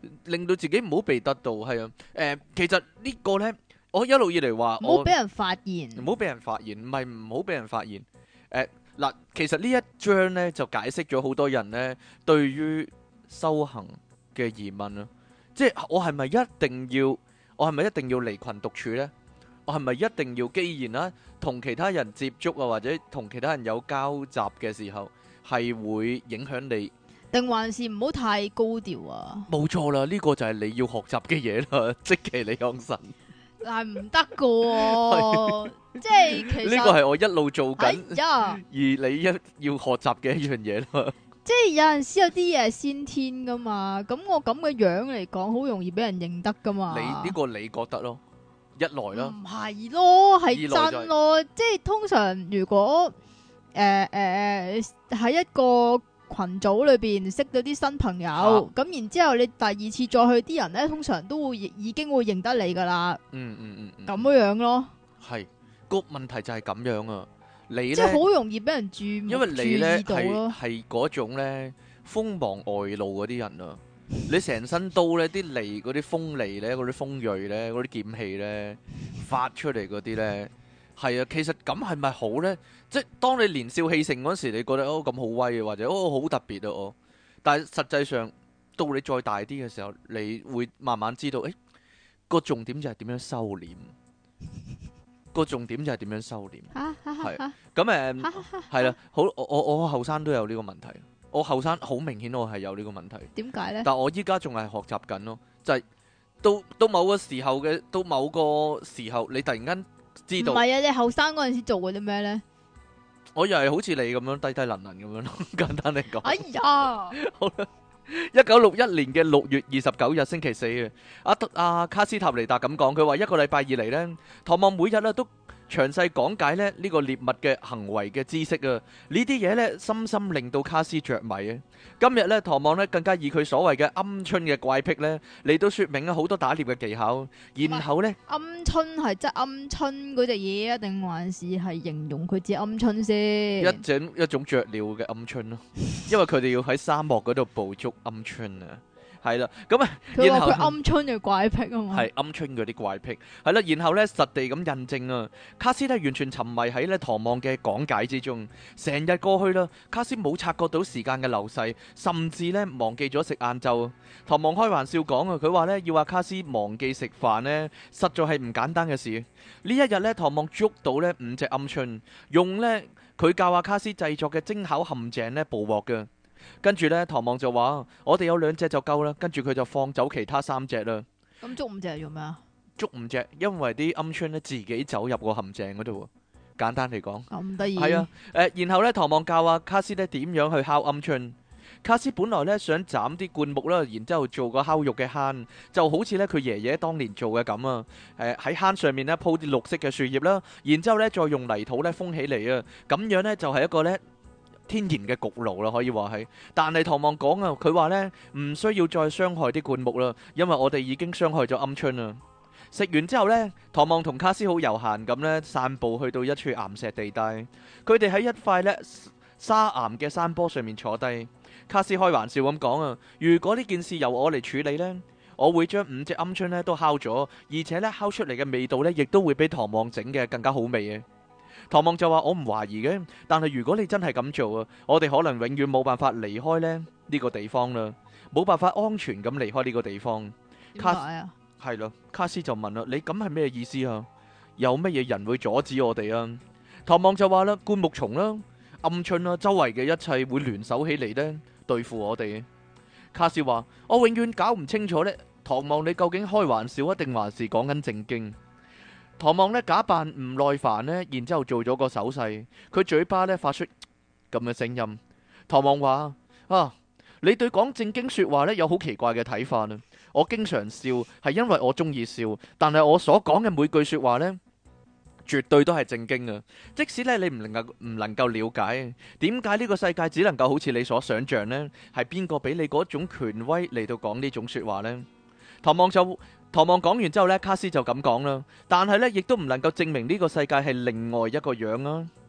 令到自己唔好被得到。係啊，誒，其實呢個呢，我一路以嚟話我唔好俾人發現。 唔好俾人發現，唔係唔好俾人發現。誒嗱，其實呢一章呢，就解釋咗好多人呢對於修行嘅疑問啊，即係我係咪一定要，我係咪一定要離群獨處呢？我係咪一定要，既然啦，同其他人接觸啊，或者同其他人有交集嘅時候，係會影響你？ 定還是唔好太高調啊？ 冇錯啦，呢個就係你要學習嘅嘢啦，即其你講神。 但係唔得噶喎，即係其實呢個係我一路做緊， 哎呀， 而你一要學習嘅一樣嘢啦。 即係有陣時有啲嘢係先天噶嘛，咁我咁嘅樣嚟講，好容易俾人認得噶嘛。 你呢個你覺得咯，一來啦， 唔係咯，係二來就係真咯，即係通常如果誒誒喺一個群組裏邊識到啲新朋友，咁、然之後你第二次再去，啲人咧通常都會已經會認得你噶啦， 嗯嗯嗯嗯， 咁樣樣咯， 係個問題就係咁樣啊。你即係咧， 好容易俾人注目因為你咧係注意到咯。 係嗰種咧鋒芒外露嗰啲人啊，你成身刀咧，啲利嗰啲鋒利咧，嗰啲鋒鋭咧，嗰啲劍氣咧發出嚟嗰啲咧，係啊，其實咁係咪好咧？即係當你年少氣盛嗰時，你覺得哦咁好威啊，或者哦好特別啊哦，但係實際上到你再大啲嘅時候，你會慢慢知道，誒個重點就係點樣收斂。個重點就係點樣收斂，係咁誒，係啦，好，我我我後生都有呢個問題，我後生好明顯我係有呢個問題， 點解咧？ 但我依家仲係學習緊咯，就係、到到某個時候嘅，到某個時候你突然間知道， 唔係啊，你後生嗰陣時做過啲咩咧？ 我又係好似你咁樣低低能能咁樣咯，簡單嚟講。 哎呀， 好啦，一九六一年嘅六月二十九日星期四啊，阿德阿卡斯塔尼達咁講，佢話一個禮拜以嚟呢，唐望每日咧都詳細講解咧呢個獵物嘅行為嘅知識啊，呢啲嘢呢，深深令到卡斯着迷啊。今日呢，唐望呢更加以佢所謂嘅鵪鶉嘅怪癖呢嚟到說明啊好多打獵嘅技巧，然後呢， 鵪鶉係即係鵪鶉嗰隻嘢啊，定還是係形容佢隻鵪鶉先？ 一種一種雀鳥嘅鵪鶉咯，因為佢哋要喺沙漠嗰度捕捉鵪鶉啊。係啦，咁啊， 佢話然後佢鵪鶉嘅怪癖啊嘛， 係鵪鶉嗰啲怪癖，係啦，然後咧實地咁印證啊，卡斯咧完全沉迷喺咧唐望嘅講解之中，成日過去啦，卡斯冇察覺到時間嘅流逝，甚至咧忘記咗食晏晝。唐望開玩笑講啊，佢話咧要話卡斯忘記食飯呢，實在係唔簡單嘅事。呢一日咧，唐望捉到呢五隻鵪鶉，用呢佢教阿卡斯製作嘅精巧陷阱呢捕獲嘅。跟住呢，唐望就話：我哋有兩隻就夠啦。跟住佢就放走其他三隻啦。 咁捉五隻係做咩啊？ 捉五隻，因為啲鵪鶉咧自己走入個陷阱嗰度。簡單嚟講， 咁得意。 係啊，誒、呃，然後呢，唐望教阿卡斯咧點樣去烤鵪鶉。卡斯本來呢想斬啲灌木啦，然之後做個烤肉嘅坑，就好似呢佢爺爺當年做嘅咁啊。誒、呃，喺坑上面呢鋪啲綠色嘅樹葉啦，然之後呢再用泥土呢封起嚟啊。咁樣呢就係、是、一個呢。天然嘅焗爐啦，可以話係，但係唐望講啊，佢話呢唔需要再傷害啲灌木啦，因為我哋已經傷害咗鵪鶉啦。食完之後呢，唐望同卡斯好悠閒咁呢散步去到一處岩石地帶，佢哋喺一塊呢沙岩嘅山坡上面坐低。卡斯開玩笑咁講啊，如果呢件事由我嚟處理呢，我會將五隻鵪鶉呢都烤咗，而且呢烤出嚟嘅味道呢亦都會比唐望整嘅更加好味嘅。唐望就話：我唔懷疑嘅，但係如果你真係咁做啊，我哋可能永遠冇辦法離開咧呢個地方啦，冇辦法安全咁離開呢個地方。 點解啊？ 係咯，卡斯就問啦：你咁係咩意思啊？有乜嘢人會阻止我哋啊？唐望就話啦：灌木叢啦、鵪鶉啦，周圍嘅一切會聯手起嚟呢，對付我哋。卡斯話：我永遠搞唔清楚呢，唐望你究竟開玩笑啊，定還是講緊正經？唐望呢假扮唔耐煩呢，然之後做咗個手勢，佢嘴巴呢發出咁嘅聲音。唐望話：啊，你對講正經說話呢有好奇怪嘅睇法啊！我經常笑係因為我中意笑，但係我所講嘅每句說話呢，絕對都係正經啊！即使呢你唔能夠唔能夠了解點解呢個世界只能夠好似你所想象呢，係邊個俾你嗰種權威嚟到講呢種說話呢？唐望就。唐望講完之後呢，卡斯就咁講啦，但係呢亦都唔能夠證明呢個世界係另外一個樣啊。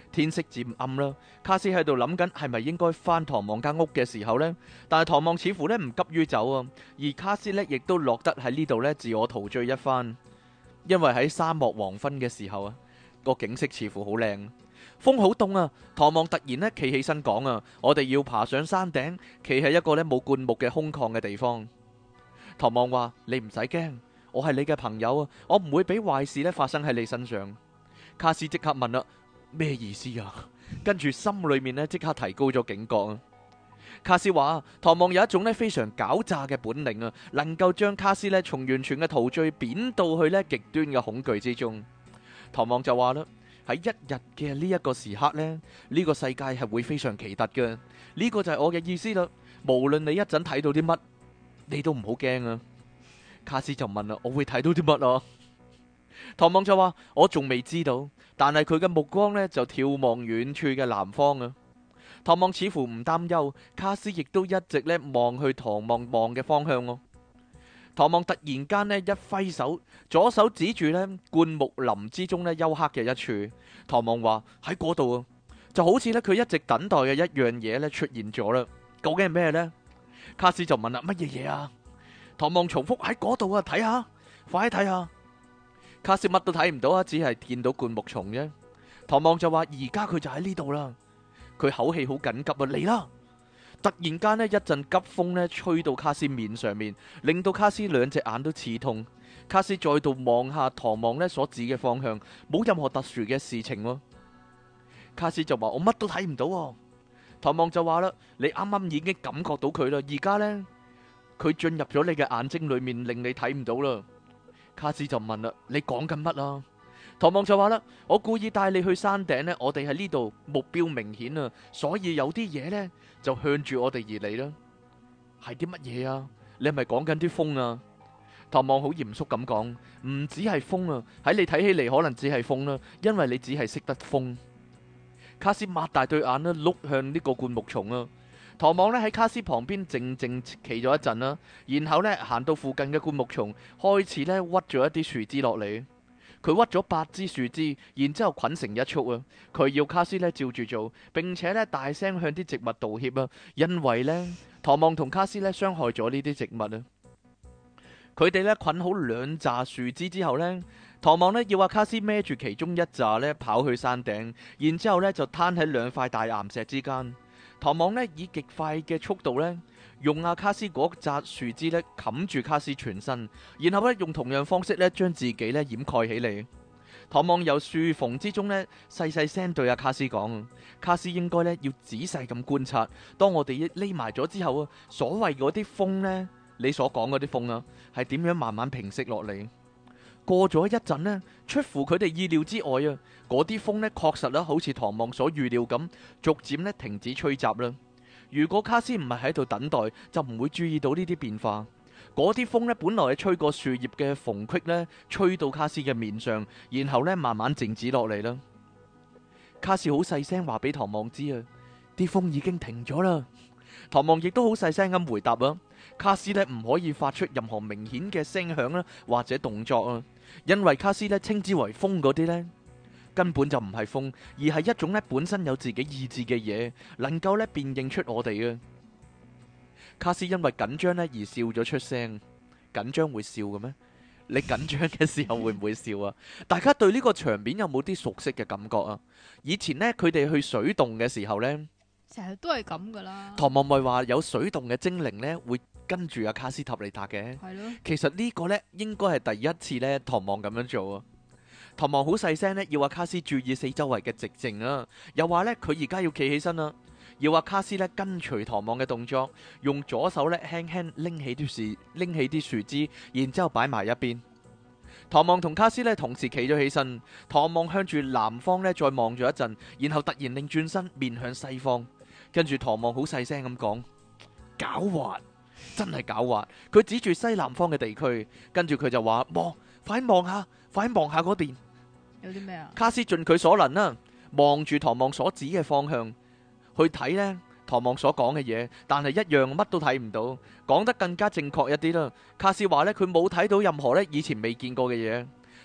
天色漸暗啦，卡斯喺度諗緊係咪應該返唐望間屋嘅時候呢，但係唐望似乎呢唔急於走啊，而卡斯呢亦都落得喺呢度呢自我陶醉一番，因為喺沙漠黃昏嘅時候啊，個景色似乎好靚，風好凍啊。唐望突然呢企起身講啊，我哋要爬上山頂，企喺一個呢冇灌木嘅空曠嘅地方。唐望話：你唔使驚，我係你嘅朋友啊，我唔會俾壞事呢發生喺你身上。卡斯即刻問啦：咩意思啊？跟住心裏面呢即刻提高咗警覺啊。卡斯話：唐望有一種呢非常狡詐嘅本領啊，能夠將卡斯呢從完全嘅陶醉貶到去呢極端嘅恐懼之中。唐望就話啦：喺一日嘅呢一個時刻呢，呢個世界係會非常奇特嘅。呢個就係我嘅意思啦。無論你一陣睇到啲乜，你都唔好驚啊。卡斯就問啦：我會睇到啲乜啊？唐望就話：我仲未知道，但係佢嘅目光呢就眺望遠處嘅南方啊。唐望似乎唔擔憂，卡斯亦都一直呢望去唐望望嘅方向咯。唐望突然間呢一揮手，左手指住呢灌木林之中呢幽黑嘅一處。唐望話：喺嗰度啊，就好似呢佢一直等待嘅一樣嘢呢出現咗啦。究竟係咩呢？卡斯就問啦：乜嘢嘢啊？唐望重複：喺嗰度啊，睇下，快啲睇下。卡斯乜都睇唔到啊，只係見到灌木叢啫。唐望就話：而家佢就喺呢度啦。佢口氣好緊急啊，嚟啦！突然間呢，一陣急風呢吹到卡斯面上面，令到卡斯兩隻眼都刺痛。卡斯再度望下唐望呢所指嘅方向，冇任何特殊嘅事情喎。卡斯就話：我乜都睇唔到喎。唐望就話啦：你啱啱已經感覺到佢啦，而家呢，佢進入咗你嘅眼睛裏面，令你睇唔到啦。卡斯就問啦：你講緊乜啊？唐望就話啦：我故意帶你去山頂呢，我哋喺呢度目標明顯啊，所以有啲嘢呢就向住我哋而嚟啦。係啲乜嘢啊？你係咪講緊啲風啊？唐望好嚴肅咁講：唔只係風啊，喺你睇起嚟可能只係風啦，因為你只係識得風。卡斯擘大對眼啦，碌向呢個灌木叢啊。唐望呢喺卡斯旁邊靜靜企咗一陣啦，然後呢行到附近嘅灌木叢，開始呢屈咗一啲樹枝落嚟。佢屈咗八支樹枝，然之後捆成一束啊！佢要卡斯呢照住做，並且呢大聲向啲植物道歉啊，因為呢，唐望同卡斯呢傷害咗呢啲植物啊。佢哋呢捆好兩紮樹枝之後呢，唐望呢要阿卡斯孭住其中一紮呢跑去山頂，然之後呢就攤喺兩塊大岩石之間。唐望呢以極快嘅速度呢，用阿卡斯嗰紮樹枝呢冚住卡斯全身，然後呢用同樣方式呢將自己呢掩蓋起嚟。唐望由樹縫之中呢細細聲對阿卡斯講：卡斯應該呢要仔細咁觀察，當我哋匿埋咗之後啊，所謂嗰啲風呢，你所講嗰啲風啊，係點樣慢慢平息落嚟？過咗一陣呢，出乎佢哋意料之外啊，嗰啲風呢確實啦，好似唐望所預料咁，逐漸呢停止吹襲啦。如果卡斯唔係喺度等待，就唔會注意到呢啲變化。嗰啲風呢，本來係吹過樹葉嘅縫隙呢，吹到卡斯嘅面上，然後呢慢慢靜止落嚟啦。卡斯好細聲話俾唐望知啊，啲風已經停咗啦。唐望亦都好細聲咁回答啊，卡斯呢唔可以發出任何明顯嘅聲響啦，或者動作啊，因為卡斯呢稱之為風嗰啲呢，根本就唔係風，而係一種呢本身有自己意志嘅嘢，能夠呢辨認出我哋嘅。卡斯因為緊張呢而笑咗出聲。緊張會笑嘅咩？你緊張嘅時候會唔會笑啊？大家對呢個場面有冇啲熟悉嘅感覺啊？以前呢，佢哋去水洞嘅時候呢， 成日都係咁噶啦。 唐望咪話有水洞嘅精靈呢會跟住阿卡斯塔尼達嘅。 係咯。 其實呢個呢應該係第一次呢，唐望咁樣做啊。唐望好細聲呢，要阿卡斯注意四周圍嘅寂靜啊，又話呢，佢而家要企起身啦。要阿卡斯咧跟隨唐望嘅動作，用左手咧輕輕拎起啲樹拎起啲樹枝，然之後擺埋一邊。唐望同卡斯咧同時企咗起身，唐望向住南方咧再望咗一陣，然後突然擰轉身面向西方，跟住唐望好細聲咁講：狡猾，真係狡猾。佢指住西南方嘅地區，跟住佢就話：望，快望下，快望下嗰邊。 有啲咩啊？卡斯盡佢所能啦，望住唐望所指嘅方向。去睇呢唐望所講嘅嘢，但係一樣乜都睇唔到。講得更加正確一啲啦，卡斯話呢，佢冇睇到任何呢以前未見過嘅嘢。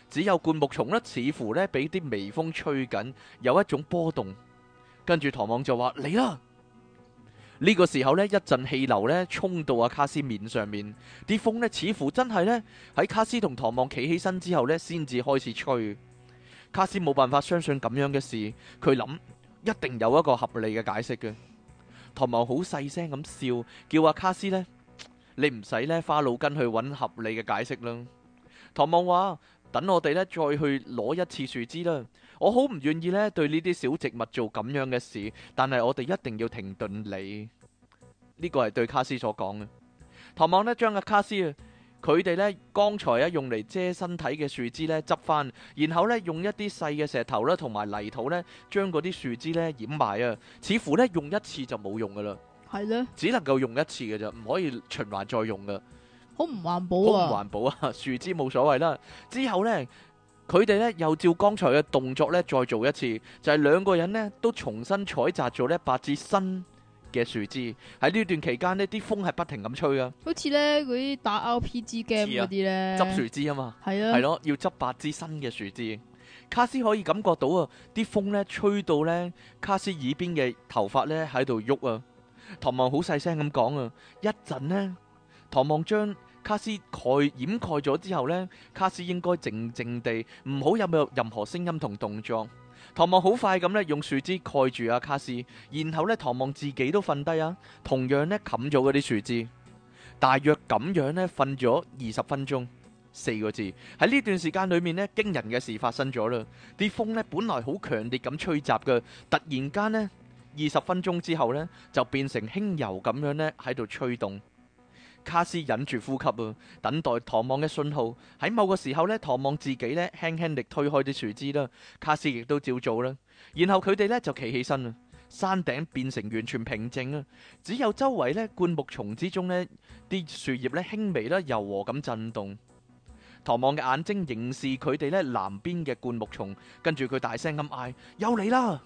只有灌木叢呢，似乎呢俾啲微風吹緊，有一種波動。跟住唐望就話嚟啦。呢個時候呢，一陣氣流呢衝到阿卡斯面上面，啲風呢似乎真係呢喺卡斯同唐望企起身之後呢先至開始吹。卡斯冇辦法相信咁樣嘅事，佢諗一定有一個合理嘅解釋嘅。唐望好細聲咁笑，叫阿卡斯呢，你唔使呢花腦筋去揾合理嘅解釋啦。唐望話：等我哋呢再去攞一次樹枝啦。我好唔願意呢對呢啲小植物做咁樣嘅事，但係我哋一定要停頓你。呢個係對卡斯所講嘅。唐望呢將阿卡斯啊，佢哋呢剛才啊用嚟遮身體嘅樹枝呢執翻，然後呢用一啲細嘅石頭啦同埋泥土呢將嗰啲樹枝呢掩埋啊，似乎呢用一次就冇用噶啦， 係咧， 只能夠用一次嘅咋，唔可以循環再用噶。 好唔環好保唔啊！ 環保啊！樹枝冇所謂啦。之後呢，佢哋呢又照剛才嘅動作呢再做一次，就係兩個人呢都重新採摘咗呢八支新嘅樹枝。喺呢段期間呢，啲風係不停咁吹啊， 好似咧嗰啲打 R P G game 似啊嗰啲咧， 執樹枝啊嘛， 係啊， 係咯，要執八支新嘅樹枝。卡斯可以感覺到啊，啲風呢吹到呢卡斯耳邊嘅頭髮呢喺度喐啊。唐望好細聲咁講啊，一陣呢，唐望將卡斯蓋掩蓋咗之後呢，卡斯應該靜靜地，唔好有冇任何聲音同動作。唐望好快咁呢，用樹枝蓋住阿卡斯，然後呢，唐望自己都瞓低啊，同樣呢，冚咗嗰啲樹枝，大約咁樣呢，瞓咗二十分鐘。四個字，喺呢段時間裏面呢，驚人嘅事發生咗啦。啲風呢，本來好強烈咁吹襲嘅，突然間呢，二十分鐘之後呢，就變成輕柔咁樣呢，喺度吹動。卡斯忍住呼吸啊，等待唐望嘅信號。喺某個時候呢，唐望自己呢輕輕力推開啲樹枝啦，卡斯亦都照做啦。然後佢哋呢就企起身啦，山頂變成完全平靜啊，只有周圍呢灌木叢之中呢啲樹葉呢輕微啦柔和咁震動。唐望嘅眼睛凝視佢哋呢南邊嘅灌木叢，跟住佢大聲咁嗌：又嚟啦！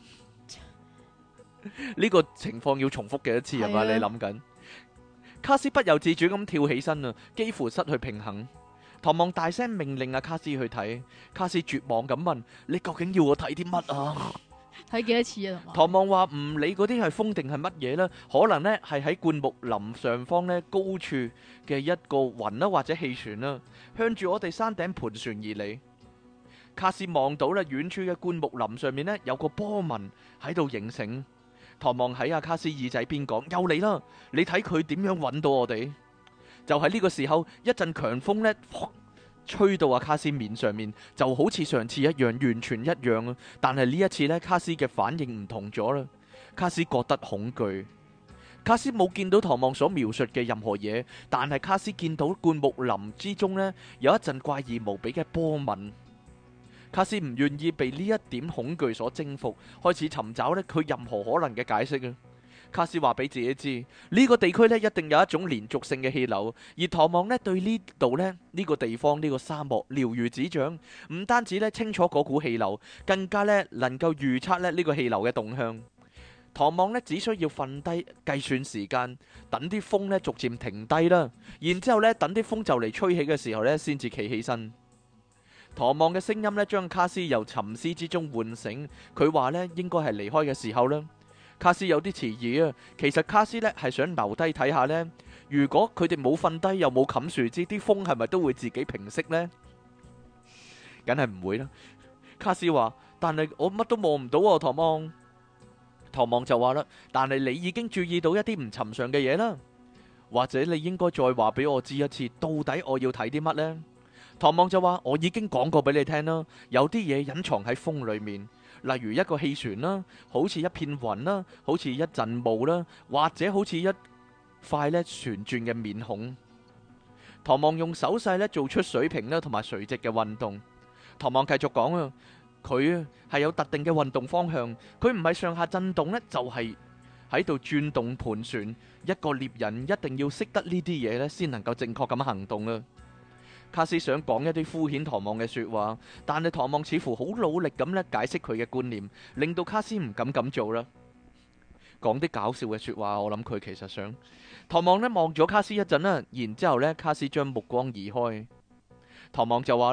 呢個情況要重複幾多次係嘛？你諗緊？卡斯不由自主咁跳起身啊，幾乎失去平衡。唐望大聲命令阿卡斯去睇，卡斯絕望咁問：你究竟要我睇啲乜啊？ 睇幾多次啊？ 唐望話唔理嗰啲係風定係乜嘢啦，可能呢係喺灌木林上方呢高處嘅一個雲啦或者氣旋啦，向住我哋山頂盤旋而嚟。卡斯望到咧遠處嘅灌木林上面呢有個波紋喺度形成。唐望喺阿卡斯耳仔邊講：又嚟啦！你睇佢點樣揾到我哋？就喺呢個時候，一陣強風呢吹到阿卡斯面上面，就好似上次一樣，完全一樣啊！但係呢一次呢，卡斯嘅反應唔同咗啦。卡斯覺得恐懼。卡斯冇見到唐望所描述嘅任何嘢，但係卡斯見到灌木林之中呢有一陣怪異無比嘅波紋。卡斯唔願意被呢一點恐懼所征服，開始尋找呢佢任何可能嘅解釋啊！卡斯話俾自己知，呢個地區呢一定有一種連續性嘅氣流，而唐望呢對呢度呢呢個地方呢個沙漠了如指掌，唔單止呢清楚嗰股氣流，更加呢能夠預測呢呢個氣流嘅動向。唐望呢只需要瞓低計算時間，等啲風呢逐漸停低啦，然之後呢等啲風就嚟吹起嘅時候呢先至企起身。唐望嘅聲音呢將卡斯由沉思之中喚醒，佢話呢應該係離開嘅時候啦。卡斯有啲遲疑啊，其實卡斯呢係想留低睇下呢，如果佢哋冇瞓低又冇冚樹枝，啲風係咪都會自己平息呢？梗係唔會啦。卡斯話：但係我乜都望唔到啊，唐望。唐望就話啦：但係你已經注意到一啲唔尋常嘅嘢啦，或者你應該再話俾我知一次，到底我要睇啲乜呢？唐望就話：我已經講過俾你聽啦，有啲嘢隱藏喺風裏面，例如一個氣旋啦，好似一片雲啦，好似一陣霧啦，或者好似一塊咧旋轉嘅面孔。唐望用手勢咧做出水平啦同埋垂直嘅運動。唐望繼續講啊，佢啊係有特定嘅運動方向，佢唔係上下震動呢，就係喺度轉動盤旋。一個獵人一定要識得呢啲嘢呢，先能夠正確咁行動啊。卡斯想講一啲敷衍唐望嘅說話，但係唐望似乎好努力咁咧解釋佢嘅觀念，令到卡斯唔敢咁做啦。講啲搞笑嘅說話，我諗佢其實想。唐望呢望咗卡斯一陣啦，然之後咧卡斯將目光移開。唐望就話啦：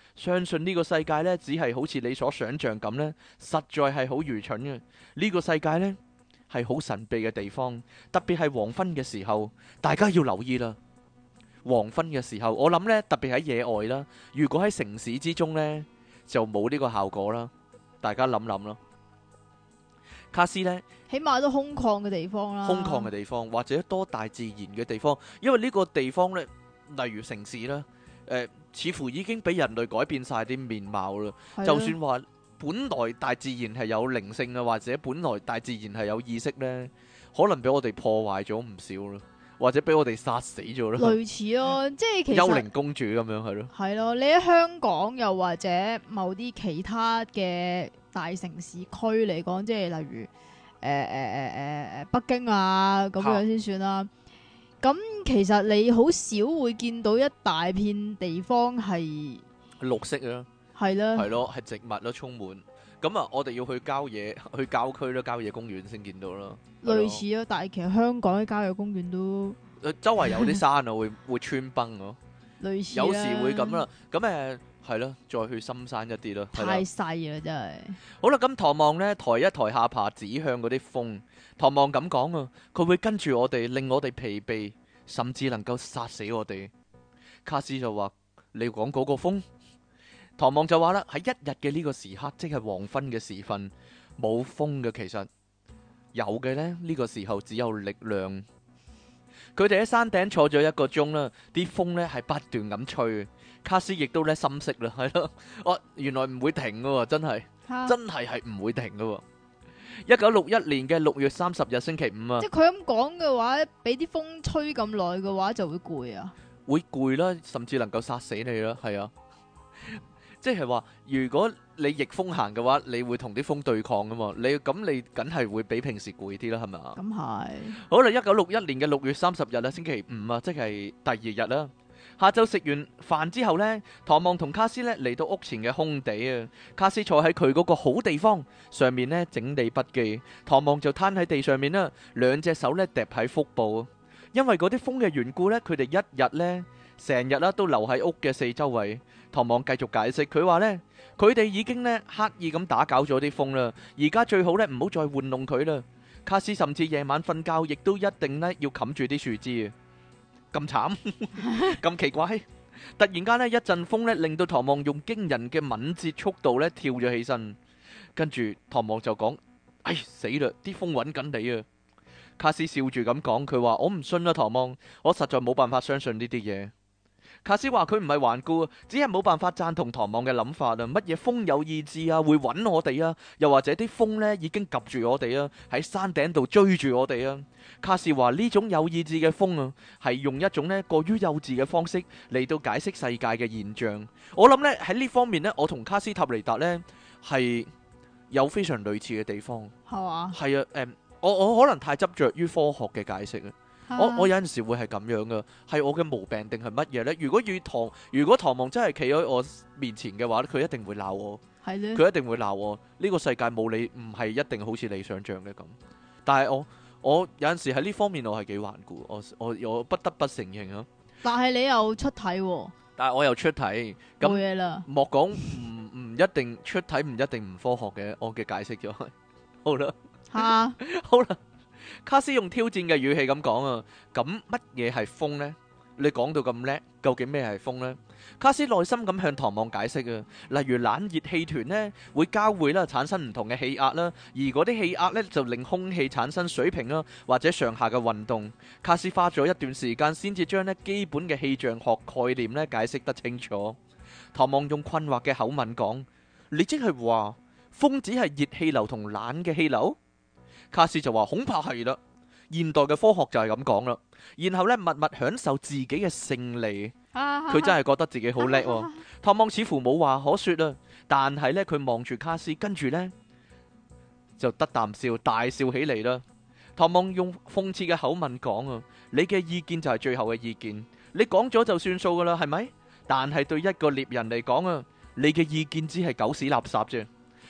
相信呢個世界呢，只係好似你所想像咁呢，實在係好愚蠢嘅。呢個世界呢，係好神秘嘅地方，特別係黃昏嘅時候，大家要留意啦。黃昏嘅時候，我諗呢，特別喺野外啦，如果喺城市之中呢，就冇呢個效果啦。大家諗諗啦。卡斯呢， 起碼都空曠嘅地方啦， 空曠嘅地方或者多大自然嘅地方，因為呢個地方呢，例如城市啦，誒，似乎已經俾人類改變晒啲面貌啦。就算話本來大自然係有靈性啊，或者本來大自然係有意識呢，可能俾我哋破壞咗唔少啦，或者俾我哋殺死咗啦。 類似咯，即係其實幽靈公主咁樣係咯。 係咯，你喺香港又或者某啲其他嘅大城市區嚟講，即係例如誒誒誒誒誒北京啊咁樣先算啦。咁其實你好少會見到一大片地方係綠色啊， 係啦， 係咯，係植物咯，充滿。咁啊，我哋要去郊野，去郊區咯，郊野公園先見到咯。 類似咯，但係其實香港啲郊野公園都誒，周圍有啲山啊，會會穿崩咯。 類似有時會咁啦。咁誒係咯，再去深山一啲咯。 太細啦，真係。 好啦，咁唐望呢，抬一抬下巴指向嗰啲風。唐望咁講啊，佢會跟住我哋，令我哋疲憊，甚至能夠殺死我哋。卡斯就話：你講嗰個風？唐望就話啦，喺一日嘅呢個時刻，即係黃昏嘅時分，冇風嘅。其實有嘅呢，呢個時候只有力量。佢哋喺山頂坐咗一個鐘啦，啲風呢係不斷咁吹。卡斯亦都咧心息啦，係咯，哦，原來唔會停噶，真係真係係唔會停噶。一九六一年嘅六月三十日星期五啊， 即係佢咁講嘅話，俾啲風吹咁耐嘅話就會攰啊， 會攰啦，甚至能夠殺死你啦，係啊。即係話，如果你逆風行嘅話，你會同啲風對抗噶嘛？你咁你梗係會比平時攰啲啦，係咪啊？ 咁係。 好啦，一九六一年嘅六月三十日啊，星期五啊，即係第二日啦。下晝食完飯之後呢，唐望同卡斯呢嚟到屋前嘅空地啊。卡斯坐喺佢嗰個好地方上面呢，整理筆記，唐望就攤喺地上面啦，兩隻手呢疊喺腹部。因為嗰啲風嘅緣故呢，佢哋一日呢，成日啦都留喺屋嘅四周圍。唐望繼續解釋，佢話呢，佢哋已經呢刻意咁打攪咗啲風啦，而家最好呢唔好再玩弄佢啦。卡斯甚至夜晚瞓覺亦都一定呢要冚住啲樹枝啊。咁慘咁奇怪，突然間呢一陣風呢令到唐望用驚人嘅敏捷速度呢跳咗起身，跟住唐望就講：哎死啦，啲風揾緊你啊！卡斯笑住咁講，佢話：我唔信啦，唐望，我實在冇辦法相信呢啲嘢。卡斯話佢唔係頑固，只係冇辦法贊同唐望嘅諗法啊！乜嘢風有意志啊，會揾我哋啊？又或者啲風呢已經及住我哋啊，喺山頂度追住我哋啊？卡斯話呢種有意志嘅風啊，係用一種呢過於幼稚嘅方式嚟到解釋世界嘅現象。我諗呢喺呢方面呢，我同卡斯塔尼達呢係有非常類似嘅地方。 係嘛？ 係啊，誒，我我可能太執着於科學嘅解釋啊。我我有陣時會係咁樣噶，係我嘅毛病定係乜嘢呢？如果與唐，如果唐望真係企喺我面前嘅話，佢一定會鬧我。 係咧， 佢一定會鬧我。呢個世界冇你，唔係一定好似你想象嘅咁。但係我我有陣時喺呢方面我係幾頑固，我我我不得不承認啊。 但係你又出體喎， 但係我又出體， 冇咁嘢啦。 莫講唔唔一定出體，唔一定唔科學嘅。我嘅解釋咗係好啦， 吓， 好啦。卡斯用挑戰嘅語氣咁講啊，咁乜嘢係風呢？你講到咁叻，究竟咩係風呢？卡斯耐心咁向唐望解釋啊，例如冷熱氣團呢會交匯啦，產生唔同嘅氣壓啦，而嗰啲氣壓呢就令空氣產生水平啦或者上下嘅運動。卡斯花咗一段時間先至將呢基本嘅氣象學概念呢解釋得清楚。唐望用困惑嘅口吻講：你即係話風只係熱氣流同冷嘅氣流？卡斯就話恐怕係啦，現代嘅科學就係咁講啦。然後呢，默默享受自己嘅勝利，佢真係覺得自己好叻喎。唐望似乎冇話可說啦，但係呢，佢望住卡斯，跟住呢，就得啖笑，大笑起嚟啦。唐望用諷刺嘅口吻講啊，你嘅意見就係最後嘅意見，你講咗就算數噶啦，係咪？但係對一個獵人嚟講啊，你嘅意見只係狗屎垃圾啫。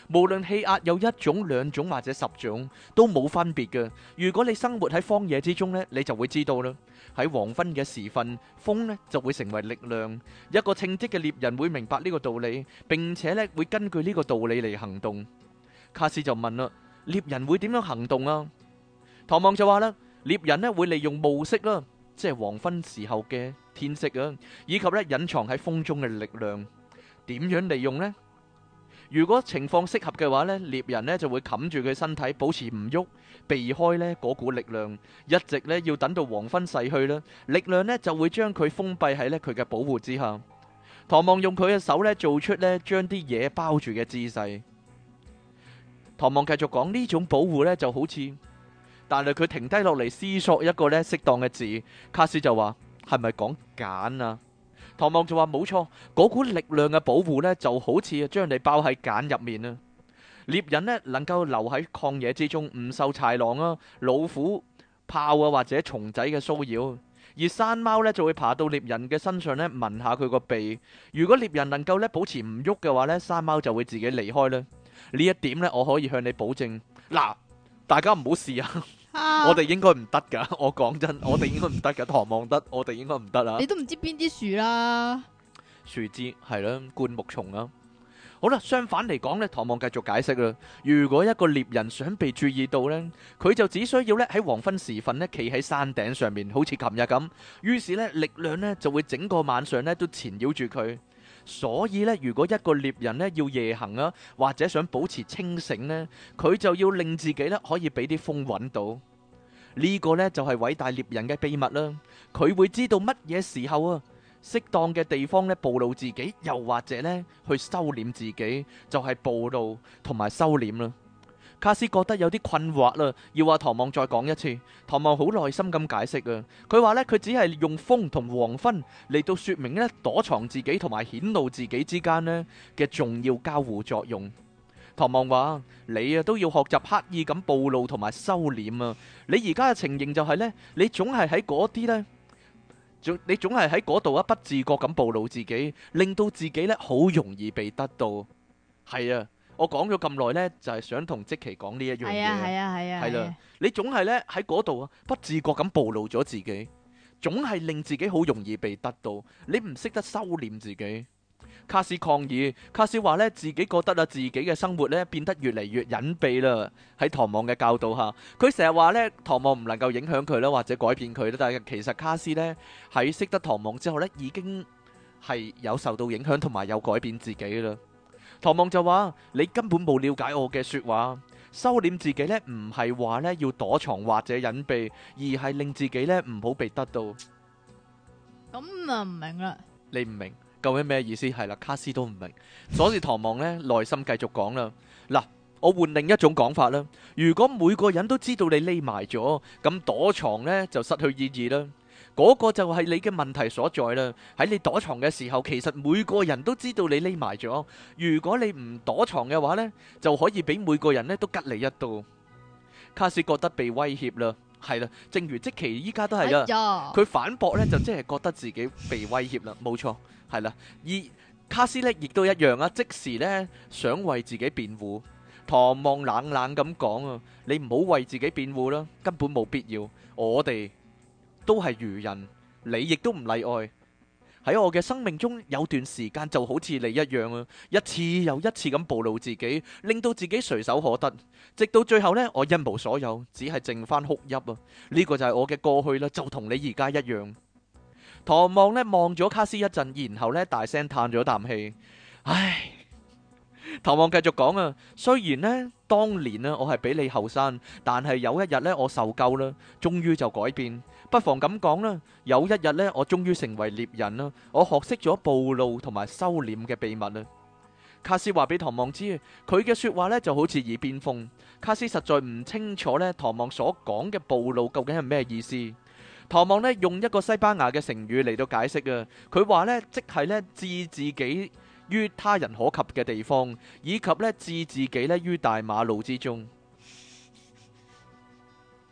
無論氣壓有一種、兩種或者十種，都冇分別嘅。如果你生活喺荒野之中呢，你就會知道啦。喺黃昏嘅時分，風呢就會成為力量。一個稱職嘅獵人會明白呢個道理，並且呢會根據呢個道理嚟行動。卡斯就問啦：獵人會點樣行動啊？唐望就話啦：獵人呢會利用暮色啦，即係黃昏時候嘅天色啊，以及呢隱藏喺風中嘅力量。點樣利用呢？如果情況適合嘅話呢，獵人呢就會冚住佢身體，保持唔喐，避開呢嗰股力量，一直呢要等到黃昏逝去啦，力量呢就會將佢封閉喺呢佢嘅保護之下。唐望用佢嘅手呢做出呢將啲嘢包住嘅姿勢。唐望繼續講，呢種保護呢就好似，但係佢停低落嚟思索一個呢適當嘅字。卡斯就話：係咪講繭啊？唐望就話冇錯，嗰股力量嘅保護呢，就好似將你包喺繭入面啊。獵人呢，能夠留喺曠野之中，唔受豺狼啊、老虎、豹啊或者蟲仔嘅騷擾，而山貓呢，就會爬到獵人嘅身上呢，聞下佢個鼻。如果獵人能夠呢保持唔喐嘅話呢，山貓就會自己離開啦。呢一點呢，我可以向你保證。嗱，大家唔好試啊！ 啊、 我哋應該唔得噶，我講真，我哋應該唔得噶。唐望得，我哋應該唔得啊！ 你都唔知邊啲樹啦， 樹枝係啦，灌木叢啊。好啦，相反嚟講呢，唐望繼續解釋啦。如果一個獵人想被注意到呢，佢就只需要呢喺黃昏時分呢企喺山頂上面，好似琴日咁。於是呢，力量呢就會整個晚上呢都纏繞住佢。所以呢，如果一個獵人呢要夜行啊，或者想保持清醒呢，佢就要令自己呢可以俾啲風揾到。呢個呢就係偉大獵人嘅秘密啦。佢會知道乜嘢時候啊，適當嘅地方呢暴露自己，又或者呢去收斂自己，就係暴露同埋收斂啦。卡斯覺得有啲困惑啦，要話唐望再講一次。唐望好耐心咁解釋啊，佢話呢，佢只係用風同黃昏嚟到說明呢躲藏自己同埋顯露自己之間呢嘅重要交互作用。唐望話：你啊都要學習刻意咁暴露同埋收斂啊！你而家嘅情形就係呢，你總係喺嗰啲呢，總你總係喺嗰度啊，不自覺咁暴露自己，令到自己呢好容易被得到。係啊。我講咗咁耐呢，就係想同積奇講呢一樣嘢。係啊係啊係啊。 係啦，你總係呢喺嗰度啊，不自覺咁暴露咗自己，總係令自己好容易被得到。你唔識得收斂自己。卡斯抗議，卡斯話呢，自己覺得啊，自己嘅生活呢變得越嚟越隱蔽啦。喺唐望嘅教導下，佢成日話呢，唐望唔能夠影響佢啦，或者改變佢啦。但係其實卡斯呢，喺識得唐望之後呢，已經係有受到影響同埋有改變自己啦。唐望就話：你根本冇了解我嘅說話，收斂自己呢，唔係話呢要躲藏或者隱蔽，而係令自己呢唔好被得到。 咁啊唔明啦， 你唔明究竟咩意思？係啦，卡斯都唔明，所以唐望呢耐心繼續講啦。嗱，我換另一種講法啦。如果每個人都知道你匿埋咗，咁躲藏呢就失去意義啦。嗰個就係你嘅問題所在啦。喺你躲藏嘅時候，其實每個人都知道你匿埋咗。如果你唔躲藏嘅話呢，就可以俾每個人呢都吉你一刀。卡斯覺得被威脅啦，係啦，正如即奇依家都係啦。佢、哎、反駁呢，就即係覺得自己被威脅啦，冇錯，係啦。而卡斯呢亦都一樣啊，即時呢想為自己辯護。唐望冷冷咁講啊，你唔好為自己辯護啦，根本冇必要。我哋都係愚人，你亦都唔例外。喺我嘅生命中有段時間就好似你一樣啊，一次又一次咁暴露自己，令到自己隨手可得，直到最後呢，我一無所有，只係剩翻哭泣啊！呢個就係我嘅過去啦，就同你而家一樣。唐望呢望咗卡斯一陣，然後呢大聲嘆咗啖氣，唉。唐望繼續講啊，雖然呢當年呢我係比你後生，但係有一日呢我受夠啦，終於就改變。不妨咁講啦，有一日呢我終於成為獵人啦，我學識咗暴露同埋收斂嘅秘密啦。卡斯話俾唐望知，佢嘅說話呢就好似耳邊風。卡斯實在唔清楚呢唐望所講嘅暴露究竟係咩意思。唐望呢用一個西班牙嘅成語嚟到解釋啊，佢話呢即係呢置自己於他人可及嘅地方，以及呢置自己呢於大馬路之中。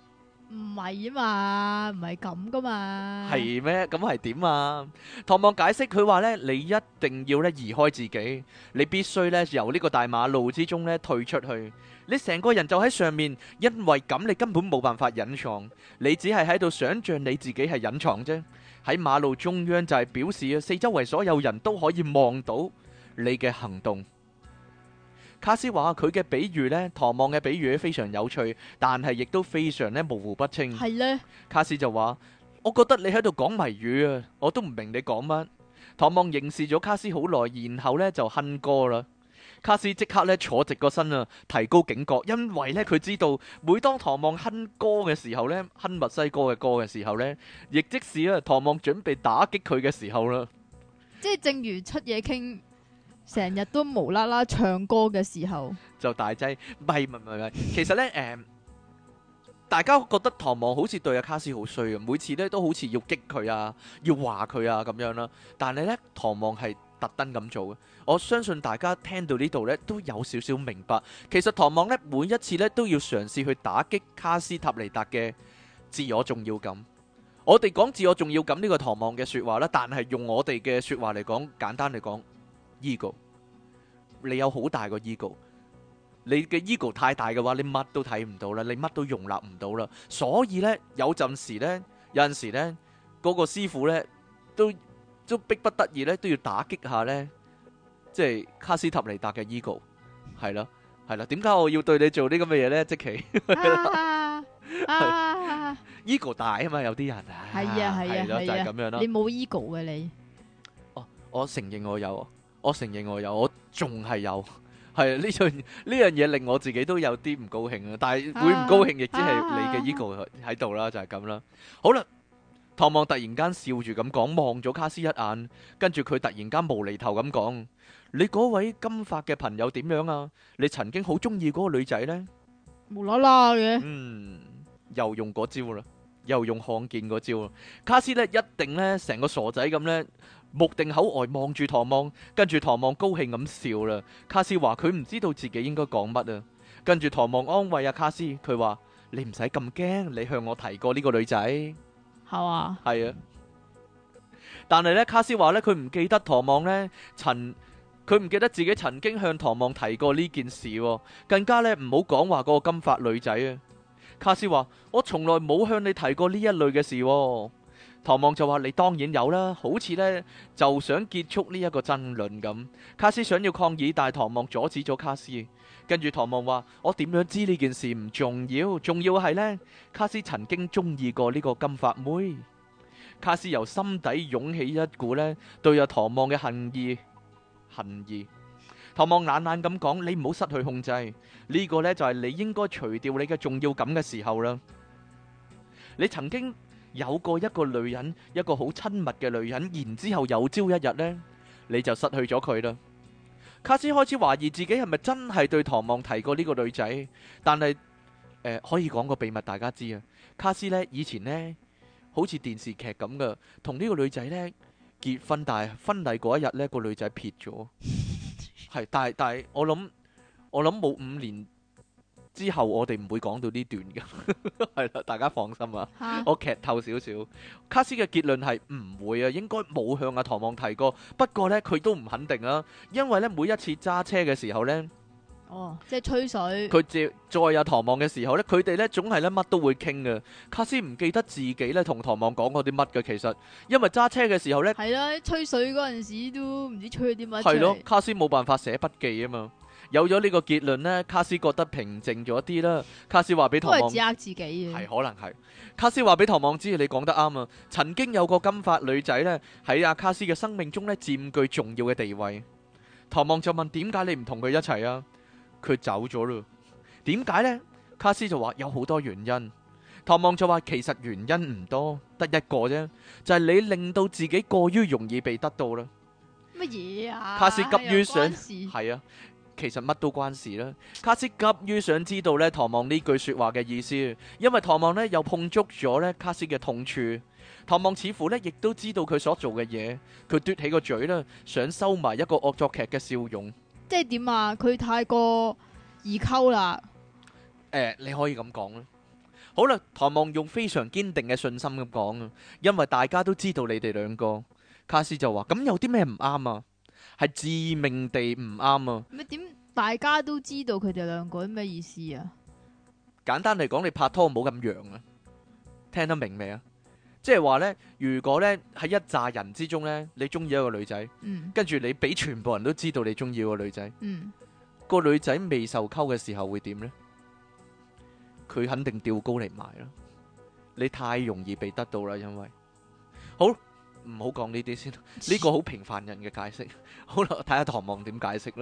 唔係啊嘛，唔係咁噶嘛。 係咩？咁係點啊？唐望解釋佢話呢，你一定要咧移開自己，你必須咧由呢個大馬路之中咧退出去。你成個人就喺上面，因為咁你根本冇辦法隱藏，你只係喺度想象你自己係隱藏啫。喺馬路中央就係表示啊，四周圍所有人都可以望到你嘅行動。卡斯話佢嘅比喻呢，唐望嘅比喻非常有趣，但係亦都非常咧模糊不清。 係呢， 卡斯就話：我覺得你喺度講謎語啊，我都唔明你講乜。唐望凝視咗卡斯好耐，然後呢就哼歌啦。卡斯即刻咧坐直個身啊，提高警覺，因為呢，佢知道每當唐望哼歌嘅時候呢，哼墨西哥嘅歌嘅時候呢，亦即是啊唐望準備打擊佢嘅時候啦。 即係正如出嘢傾，成日都無啦啦唱歌嘅時候， 就大劑，唔係唔係唔係，其實呢，誒、嗯，大家覺得唐望好似對阿卡斯好衰啊，每次呢都好似要激佢啊，要話佢啊咁樣啦。但係呢，唐望係特登咁做嘅。我相信大家聽到呢度呢都有少少明白，其實唐望呢每一次呢都要嘗試去打擊卡斯塔尼達嘅自我重要感。我哋講自我重要感呢個唐望嘅說話啦，但係用我哋嘅說話嚟講，簡單嚟講。ego， 你有好大個 ego， 你嘅 ego 太大嘅話，你乜都睇唔到啦，你乜都容納唔到啦。所以呢，有陣時呢，有陣時呢，嗰個師傅呢，都都逼不得已呢，都要打擊下呢，即係卡斯塔尼達嘅 ego， 係啦，係啦。點解我要對你做呢咁嘅嘢呢？即其啊啊 ego 大啊嘛，有啲人啊， 係啊係啊係咯，就係咁樣啦。 你冇 ego 嘅你， 哦，我承認我有。我承認我有，我仲係有，係呢樣呢樣嘢令我自己都有啲唔高興啊！但係會唔高興，亦即係你嘅 ego 喺度啦，就係咁啦。好啦，唐望突然間笑住咁講，望咗卡斯一眼，跟住佢突然間無厘頭咁講：你嗰位金髮嘅朋友點樣啊？你曾經好中意嗰個女仔呢？ 無啦啦嘅， 嗯，又用嗰招啦，又用看見嗰招啦。卡斯呢一定呢成個傻仔咁呢。目定口呆望住唐望，跟住唐望高興咁笑啦。卡斯話佢唔知道自己應該講乜啊。跟住唐望安慰阿卡斯，佢話你唔使咁驚，你向我提過呢個女仔係嘛？ 係啊。但係呢，卡斯話呢，佢唔記得唐望呢曾，佢唔記得自己曾經向唐望提過呢件事，更加呢唔好講話嗰個金髮女仔啊。卡斯話我從來冇向你提過呢一類嘅事。唐望就話你當然有啦，好似呢就想結束呢一個爭論咁。卡斯想要抗議，但係唐望阻止咗卡斯。跟住唐望話：我點樣知呢件事唔重要，重要係呢，卡斯曾經中意過呢個金髮妹。卡斯由心底湧起一股呢對阿唐望嘅恨意，恨意。唐望懶懶咁講：你唔好失去控制，呢個呢就係你應該除掉你嘅重要感嘅時候啦。你曾經有過一個女人，一個好親密嘅女人，然之後有朝一日呢，你就失去咗佢啦。卡斯開始懷疑自己係咪真係對唐望提過呢個女仔，但係誒、呃、可以講個秘密大家知啊。卡斯呢以前呢好似電視劇咁噶，同呢個女仔呢結婚，但係婚禮嗰一日呢個女仔撇咗，係但係但係我諗我諗冇五年。之後我哋唔會講到呢段嘅，係啦，大家放心啊。 哈我劇透少少，卡斯嘅結論係唔會啊，應該冇向阿唐望提過。不過呢，佢都唔肯定啊，因為呢，每一次揸車嘅時候呢， 哦，即係吹水。 佢接載阿唐望嘅時候呢，佢哋呢總係呢乜都會傾嘅。卡斯唔記得自己呢同唐望講過啲乜嘅，其實因為揸車嘅時候呢， 係啦，吹水嗰陣時都唔知吹咗啲乜。 係咯，卡斯冇辦法寫筆記啊嘛。有咗呢個結論呢，卡斯覺得平靜咗啲啦。卡斯話俾唐望， 都係自呃自己嘅。 係可能係。卡斯話俾唐望知，你講得啱啊。曾經有個金髮女仔呢，喺阿卡斯嘅生命中呢佔據重要嘅地位。唐望就問：點解你唔同佢一齊啊？佢走咗咯。點解呢？卡斯就話有好多原因。唐望就話其實原因唔多，得一個啫，就係你令到自己過於容易被得到啦。 乜嘢啊？ 卡斯急於想， 有關事係啊。其實乜都關事啦。卡斯急於想知道呢唐望呢句說話嘅意思，因為唐望呢又碰觸咗呢卡斯嘅痛處。唐望似乎呢亦都知道佢所做嘅嘢，佢嘟起個嘴啦，想收埋一個惡作劇嘅笑容。 即係點啊？佢太過易溝啦。 誒、呃，你可以咁講啦。 好啦，唐望用非常堅定嘅信心咁講啊，因為大家都知道你哋兩個。卡斯就話：咁有啲咩唔啱啊？係致命地唔啱啊！ 咩點？大家都知道佢哋兩個咩意思啊？ 簡單嚟講，你拍拖冇咁揚啊！聽得明未啊？即係話呢，如果呢喺一紮人之中呢，你中意一個女仔， 嗯跟住你俾全部人都知道你中意個女仔， 嗯， 個女仔未受溝嘅時候會點呢？佢肯定吊高嚟賣啦！你太容易被得到啦，因為好唔好講呢啲先？呢個好平凡人嘅解釋。好啦，睇下唐望點解釋啦。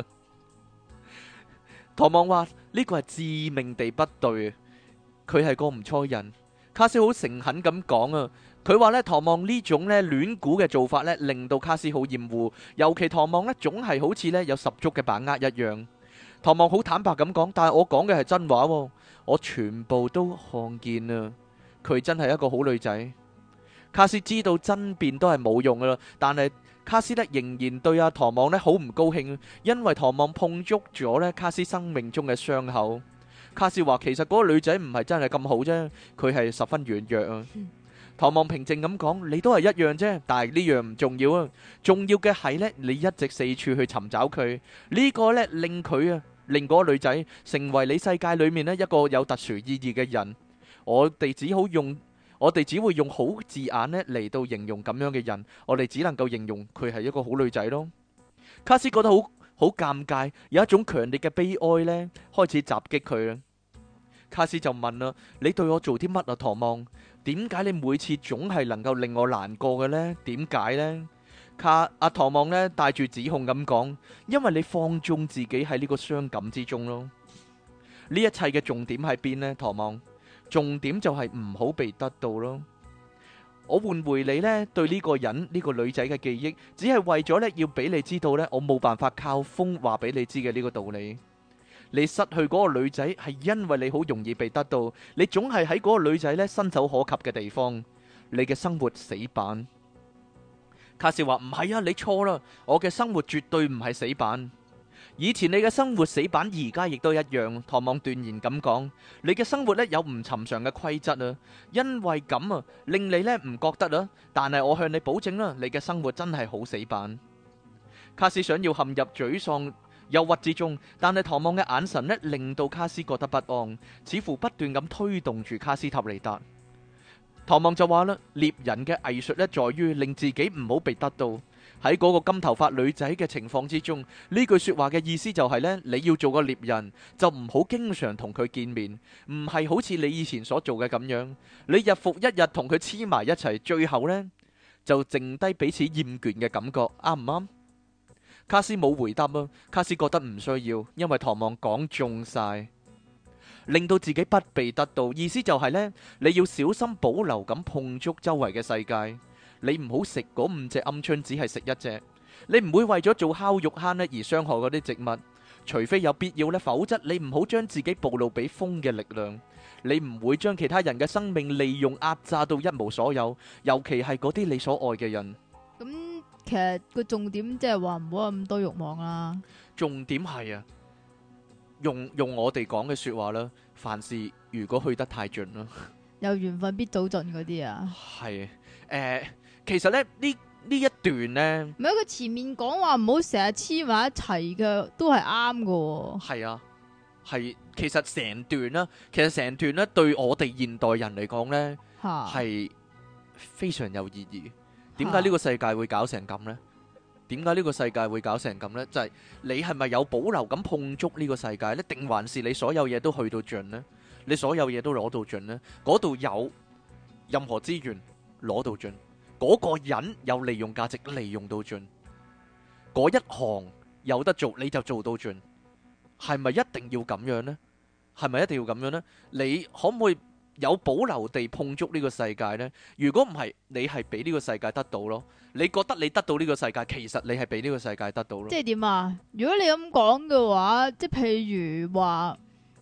唐望話呢個係致命地不對，佢係個唔錯人。卡斯好誠懇咁講啊，佢話呢，唐望呢種呢亂估嘅做法呢，令到卡斯好厭惡，尤其唐望呢，總係好似呢有十足嘅把握一樣。唐望好坦白咁講，但係我講嘅係真話喎，我全部都看見啊，佢真係一個好女仔。卡斯知道爭辯都係冇用噶啦，但係卡斯呢仍然對阿唐望呢好唔高興，因為唐望碰觸咗呢卡斯生命中嘅傷口。卡斯話其實嗰個女仔唔係真係咁好啫，佢係十分軟弱啊。唐望平靜咁講：你都係一樣啫，但係呢樣唔重要啊，重要嘅係呢，你一直四處去尋找佢，呢個呢令佢啊，令嗰個女仔成為你世界裏面呢一個有特殊意義嘅人。我哋只好用。我哋只會用好字眼呢嚟到形容咁樣嘅人，我哋只能夠形容佢係一個好女仔咯。卡斯覺得好好尷尬，有一種強烈嘅悲哀呢開始襲擊佢啦。卡斯就問啦：你對我做啲乜啊，唐望？點解你每次總係能夠令我難過嘅呢？點解呢？卡阿唐望呢帶住指控咁講：因為你放縱自己喺呢個傷感之中咯。呢一切嘅重點喺邊呢？唐望？重點就係唔好被得到咯。我換回你呢對呢個人呢個女仔嘅記憶，只係為咗呢要俾你知道呢，我冇辦法靠風話俾你知嘅呢個道理。你失去嗰個女仔係因為你好容易被得到，你總係喺嗰個女仔呢伸手可及嘅地方，你嘅生活死板。卡士話唔係啊，你錯啦，我嘅生活絕對唔係死板。以前你嘅生活死板，而家亦都一樣。唐望斷言咁講，你嘅生活呢有唔尋常嘅規則啊，因為咁啊，令你呢唔覺得啊。但係我向你保證啦，你嘅生活真係好死板。卡斯想要陷入沮喪、憂鬱之中，但係唐望嘅眼神呢令到卡斯覺得不安，似乎不斷咁推動住卡斯塔尼達。唐望就話啦，獵人嘅藝術呢，在於令自己唔好被得到。喺嗰個金頭髮女仔嘅情況之中，呢句說話嘅意思就係呢：你要做個獵人，就唔好經常同佢見面，唔係好似你以前所做嘅咁樣。你日復一日同佢黐埋一齊，最後呢，就剩低彼此厭倦嘅感覺，啱唔啱？卡斯冇回答啊，卡斯覺得唔需要，因為唐望講中晒，令到自己不被得到。意思就係呢：你要小心保留咁碰觸周圍嘅世界。你唔好食嗰五隻鵪鶉，只係食一隻。你唔會為咗做烤肉坑呢而傷害嗰啲植物，除非有必要呢，否則你唔好將自己暴露俾風嘅力量。你唔會將其他人嘅生命利用壓榨到一無所有，尤其係嗰啲你所愛嘅人。 咁其實個重點即係話唔好有咁多慾望啦。 重點係啊，用用我哋講嘅說話啦，凡事如果去得太盡啦， 有緣分必早盡嗰啲啊。 係誒。其實咧呢呢一段呢， 唔係佢前面講話唔好成日黐埋一齊嘅，都係啱嘅。 係啊，係其實成段啦，其實成段咧對我哋現代人嚟講呢，係非常有意義。點解呢個世界會搞成咁呢？點解呢個世界會搞成咁呢？就係你係咪有保留咁碰觸呢個世界呢？定還是你所有嘢都去到盡呢？你所有嘢都攞到盡呢？嗰度有任何資源攞到盡。嗰個人有利用價值，利用到盡，嗰一行有得做你就做到盡，係咪一定要咁樣呢？係咪一定要咁樣呢？你可唔可以有保留地碰觸呢個世界呢？如果唔係，你係俾呢個世界得到咯。你覺得你得到呢個世界，其實你係俾呢個世界得到咯。即係點啊？如果你咁講嘅話，即係譬如話，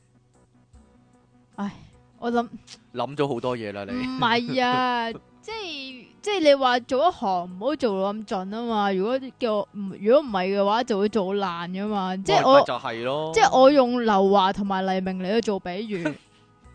唉，我諗諗咗好多嘢啦，你唔係啊，即係。即係你話做一行唔好做到咁盡啊嘛，如果叫我唔如果唔係嘅話，就會做爛噶嘛。即係我就係咯， 即係我用劉華同埋黎明嚟去做比喻，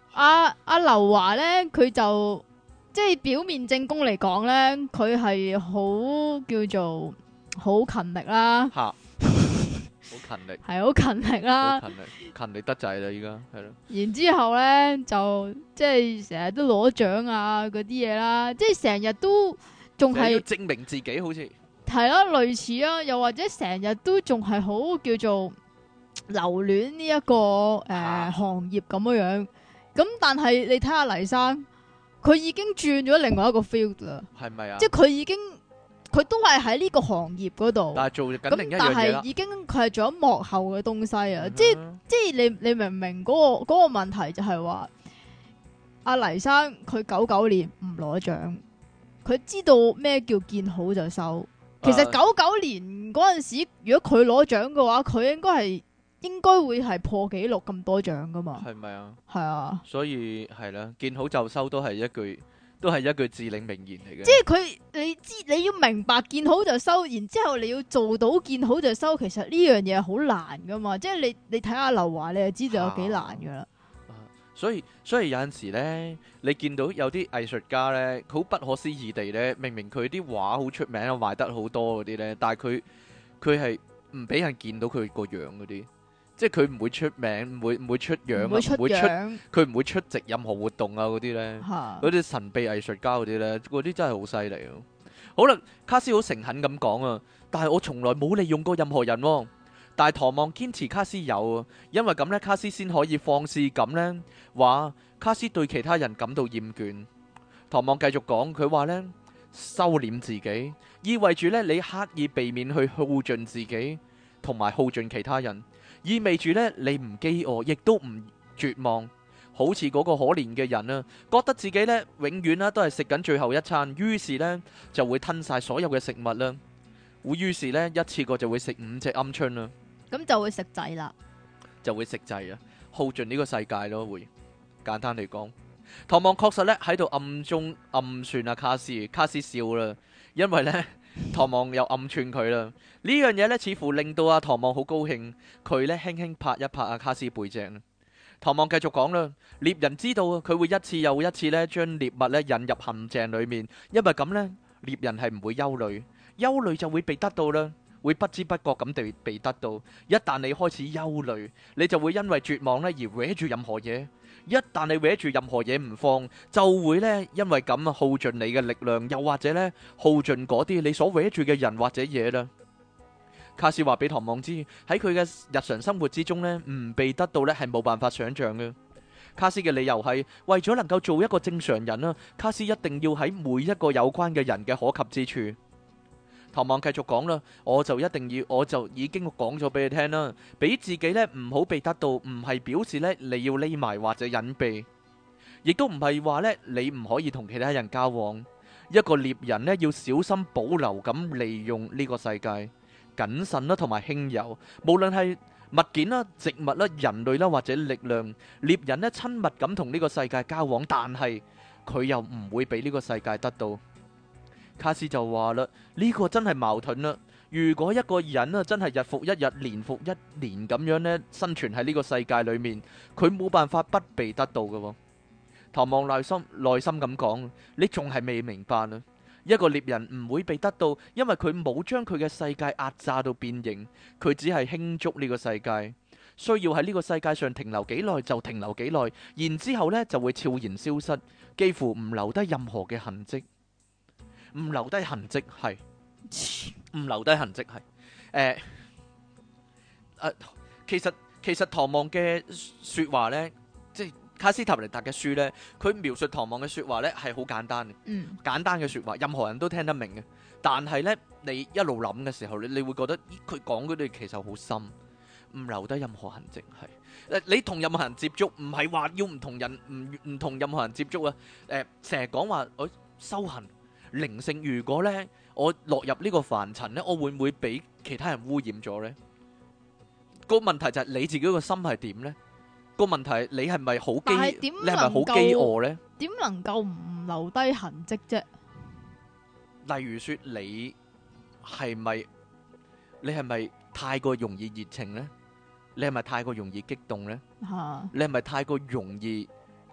阿阿劉華咧，佢就即係表面正宮嚟講咧，佢係好叫做好勤力啦， 吓，好勤力， 係好勤力啦。 好勤力，勤力得滯啦，依家係咯。 然之後咧就即係成日都攞獎啊嗰啲嘢啦，即係成日都仲成日要係證明自己好似係啦，類似啊，又或者成日都仲係好叫做留戀呢一個誒、呃啊行業咁樣樣。咁但係你睇下黎生，佢已經轉咗另外一個 field 啦， 係咪啊？ 即係佢已經佢都係喺呢個行業嗰度， 但係做緊另咁但一樣嘢啦係。已經佢係做咗幕後嘅東西啊！即係嗯即係你你明唔明嗰、個嗰、個問題就係話阿黎生佢九九年唔攞獎，佢知道咩叫見好就收。其實啊九九年嗰陣時，如果佢攞獎嘅話，佢應該係應該會係破紀錄咁多獎噶嘛。 係咪啊？ 係啊， 所以係啦，見好就收都係一句，都係一句至理名言嚟嘅。 即係佢你知你要明白見好就收，然之後你要做到見好就收，其實呢樣嘢係好難噶嘛。即係你你睇下劉華，你就知道有幾難噶啦。 所以所以有陣時咧，你見到有啲藝術家咧，好不可思議地咧，明明佢啲畫好出名啊，賣得好多嗰啲咧，但係佢佢係唔俾人見到佢個樣嗰啲，即係佢唔會出名，唔會唔會出樣啊， 唔會出唔會出樣佢唔會出席任何活動啊嗰啲咧， 嚇。 嗰啲神秘藝術家嗰啲咧，嗰啲真係好犀利啊！好啦，卡斯好誠懇咁講啊，但係我從來冇利用過任何人喎。但係唐望堅持卡斯有啊，因為咁呢，卡斯先可以放肆咁呢話卡斯對其他人感到厭倦。唐望繼續講，佢話呢，收斂自己，意味住呢，你刻意避免去耗盡自己，同埋耗盡其他人，意味住呢，你唔飢餓，亦都唔絕望，好似嗰個可憐嘅人啊，覺得自己呢永遠啦都係食緊最後一餐，於是呢就會吞晒所有嘅食物啦，會於是呢一次過就會食五隻鵪鶉啦。 咁就會食滯啦。 就會食滯啊，耗盡呢個世界咯，會簡單嚟講。唐望確實咧喺度暗中暗算阿卡斯，卡斯笑啦，因為呢，唐望又暗串佢啦。呢樣嘢呢，似乎令到阿唐望好高興，佢呢輕輕拍一拍阿卡斯背脊。唐望繼續講啦，獵人知道啊，佢會一次又一次呢將獵物呢引入陷阱裏面，因為咁呢，獵人係唔會憂慮，憂慮就會被得到啦。會不知不覺咁地被得到。一旦你開始憂慮，你就會因為絕望咧而搲住任何嘢。一旦你搲住任何嘢唔放，就會咧因為咁啊耗盡你嘅力量，又或者咧耗盡嗰啲你所搲住嘅人或者嘢啦。卡斯話俾唐望知，喺佢嘅日常生活之中咧，唔被得到咧係冇辦法想象嘅。卡斯嘅理由係為咗能夠做一個正常人啦，卡斯一定要喺每一個有關嘅人嘅可及之處。唐望繼續講啦，我就一定要，我就已經講咗俾你聽啦，俾自己呢唔好被得到，唔係表示呢你要匿埋或者隱蔽，亦都唔係話呢你唔可以同其他人交往。一個獵人呢要小心保留咁利用呢個世界，謹慎啦同埋輕柔，無論係物件啦、植物啦、人類啦或者力量，獵人呢親密咁同呢個世界交往，但係佢又唔會俾呢個世界得到。卡斯就話啦，呢個真係矛盾啦。如果一個人啊真係日復一日、年復一年咁樣呢生存喺呢個世界裏面，佢冇辦法不被得到嘅。唐望內心內心咁講，你仲係未明白啊？一個獵人唔會被得到，因為佢冇將佢嘅世界壓榨到變形，佢只係輕觸呢個世界，需要喺呢個世界上停留幾耐就停留幾耐，然之後呢就會悄然消失，幾乎唔留低任何嘅痕跡。唔留低痕跡係，唔留低痕跡係，誒誒，其實其實唐望嘅説話呢，即係卡斯塔尼達嘅書呢，佢描述唐望嘅説話呢係好簡單嘅， 嗯， 簡單嘅説話，任何人都聽得明嘅。但係呢，你一路諗嘅時候，你你會覺得，咦，佢講嗰啲其實好深，唔留低任何痕跡係。誒，你同任何人接觸，唔係話要唔同人唔唔同任何人接觸啊。誒，成日講話我修行。靈性，如果咧我落入呢個凡塵咧，我會唔會俾其他人污染咗呢？個問題就係你自己個心係點呢？個問題係你係咪好飢？你係咪好飢餓呢？ 點能夠唔留低痕跡啫？ 例如說你係咪你係咪太過容易熱情呢？你係咪太過容易激動呢？ 嚇！ 你係咪太過容易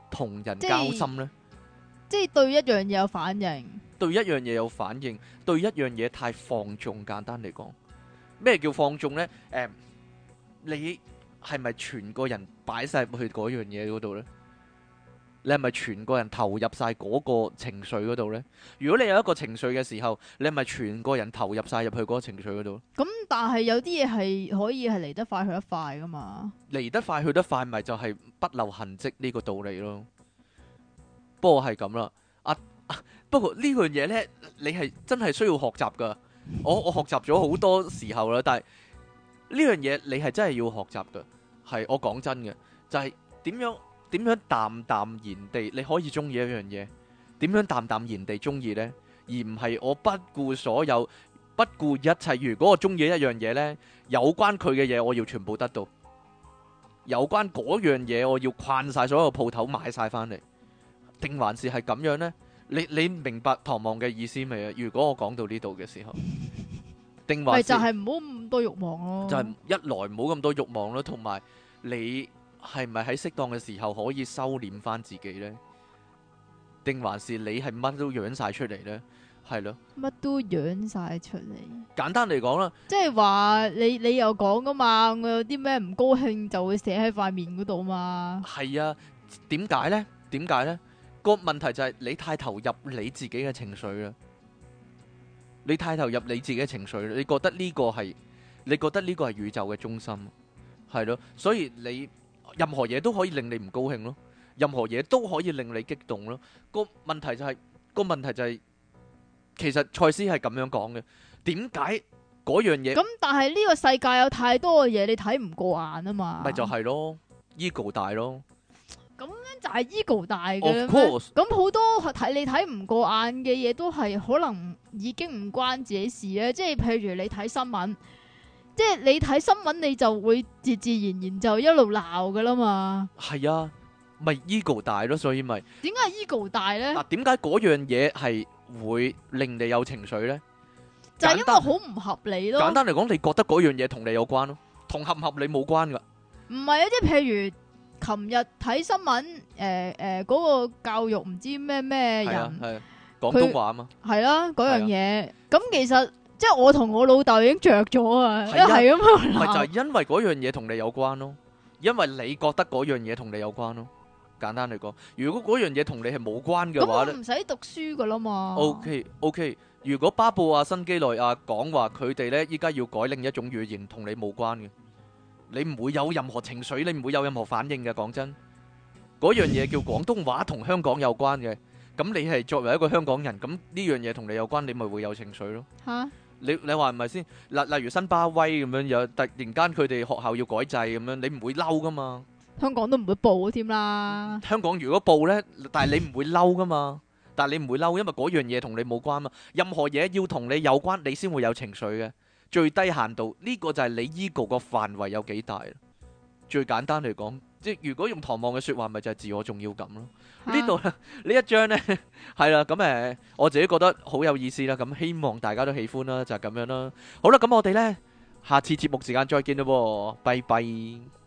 同人即係交心呢？ 即係對一樣嘢有反應。 對一樣嘢有反應，對一樣嘢太放縱。簡單嚟講，咩叫放縱呢？誒、你係咪全個人擺晒入去嗰樣嘢嗰度呢？你係咪全個人投入晒嗰個情緒嗰度呢？如果你有一個情緒嘅時候，你係咪全個人投入晒入去嗰個情緒嗰度？ 咁但係有啲嘢係可以係嚟得快去得快噶嘛？ 嚟得快去得快，咪就係不留痕跡呢個道理咯。不過係咁啦，啊啊不過呢樣嘢呢，你係真係需要學習噶。我我學習咗好多時候啦，但係呢樣嘢你係真係要學習噶。係我講真嘅，就係點樣點樣淡淡然地你可以中意一樣嘢，點樣淡淡然地中意呢？而唔係我不顧所有，不顧一切。如果我中意一樣嘢呢，有關佢嘅嘢我要全部得到，有關嗰樣嘢我要逛晒所有鋪頭買晒翻嚟，定還是係咁樣呢？你你明白唐望嘅意思未啊？如果我講到呢度嘅時候，定還是咪就係唔好咁多慾望咯。 就係一來唔好咁多慾望咯，同埋你係咪喺適當嘅時候可以收斂翻自己呢？定還是你係乜都養晒出嚟呢？係咯， 乜都養晒出嚟。 簡單嚟講啦， 即係話你你又講噶嘛，我有啲咩唔高興就會寫喺塊面嗰度嘛。 係啊，點解呢？點解呢？個問題就係你太投入你自己嘅情緒啦，你太投入你自己嘅情緒，你覺得呢個係，你覺得呢個係宇宙嘅中心，係咯，所以你任何嘢都可以令你唔高興咯，任何嘢都可以令你激動咯。個問題就係，個問題就係，其實賽斯係咁樣講嘅，點解嗰樣嘢咁但係呢個世界有太多嘅嘢你睇唔過眼啊嘛。 咪就係咯，ego 大咯。 就係 ego 大嘅 Of 咩？ course 咁好多睇你睇唔過眼嘅嘢都係可能已經唔關自己事咧。即係譬如你睇新聞，即係你睇新聞你就會自自然然就一路鬧噶啦嘛。 係啊，咪 ego 大咯，所以咪點解 ego 大咧？ 嗱，點解嗰樣嘢係會令你有情緒呢？ 就係因為好唔合理咯。 簡單嚟講，你覺得嗰樣嘢同你有關咯，同合唔合理冇關噶。 唔係啊，即係譬如琴日睇新聞，誒誒嗰個教育唔知咩咩係啊人， 係啊，廣東話啊嘛。 係啦嗰樣嘢。咁其實即係我同我老豆已經着咗啊，一係啊係咁樣咪就鬧。 係因為嗰樣嘢同你有關咯，因為你覺得嗰樣嘢同你有關咯。簡單嚟講，如果嗰樣嘢同你係冇關嘅咁話咧我唔使讀書噶啦嘛。 ，OK OK。如果巴布亞新幾內亞講話佢哋咧依家要改另一種語言，同你冇關嘅，你唔會有任何情緒，你唔會有任何反應嘅。講真，嗰樣嘢叫廣東話同香港有關嘅，咁你係作為一個香港人，咁呢樣嘢同你有關，你咪會有情緒咯。 吓， 你你話係咪先？例例如新巴威咁樣，有突然間佢哋學校要改制咁樣，你唔會嬲噶嘛？ 香港都唔會報添啦。 香港如果報呢，但係你唔會嬲噶嘛？但係你唔會嬲，因為嗰樣嘢同你冇關嘛。任何嘢要同你有關，你先會有情緒嘅。最低限度呢個就係你 ego 個範圍有幾大。最簡單嚟講，即係如果用唐望嘅説話，咪就係自我重要感咯。呢度呢一章呢，係啦，咁誒我自己覺得好有意思啦。咁希望大家都喜歡啦，就係咁樣啦。好啦，咁我哋呢，下次節目時間再見啦喎，拜拜。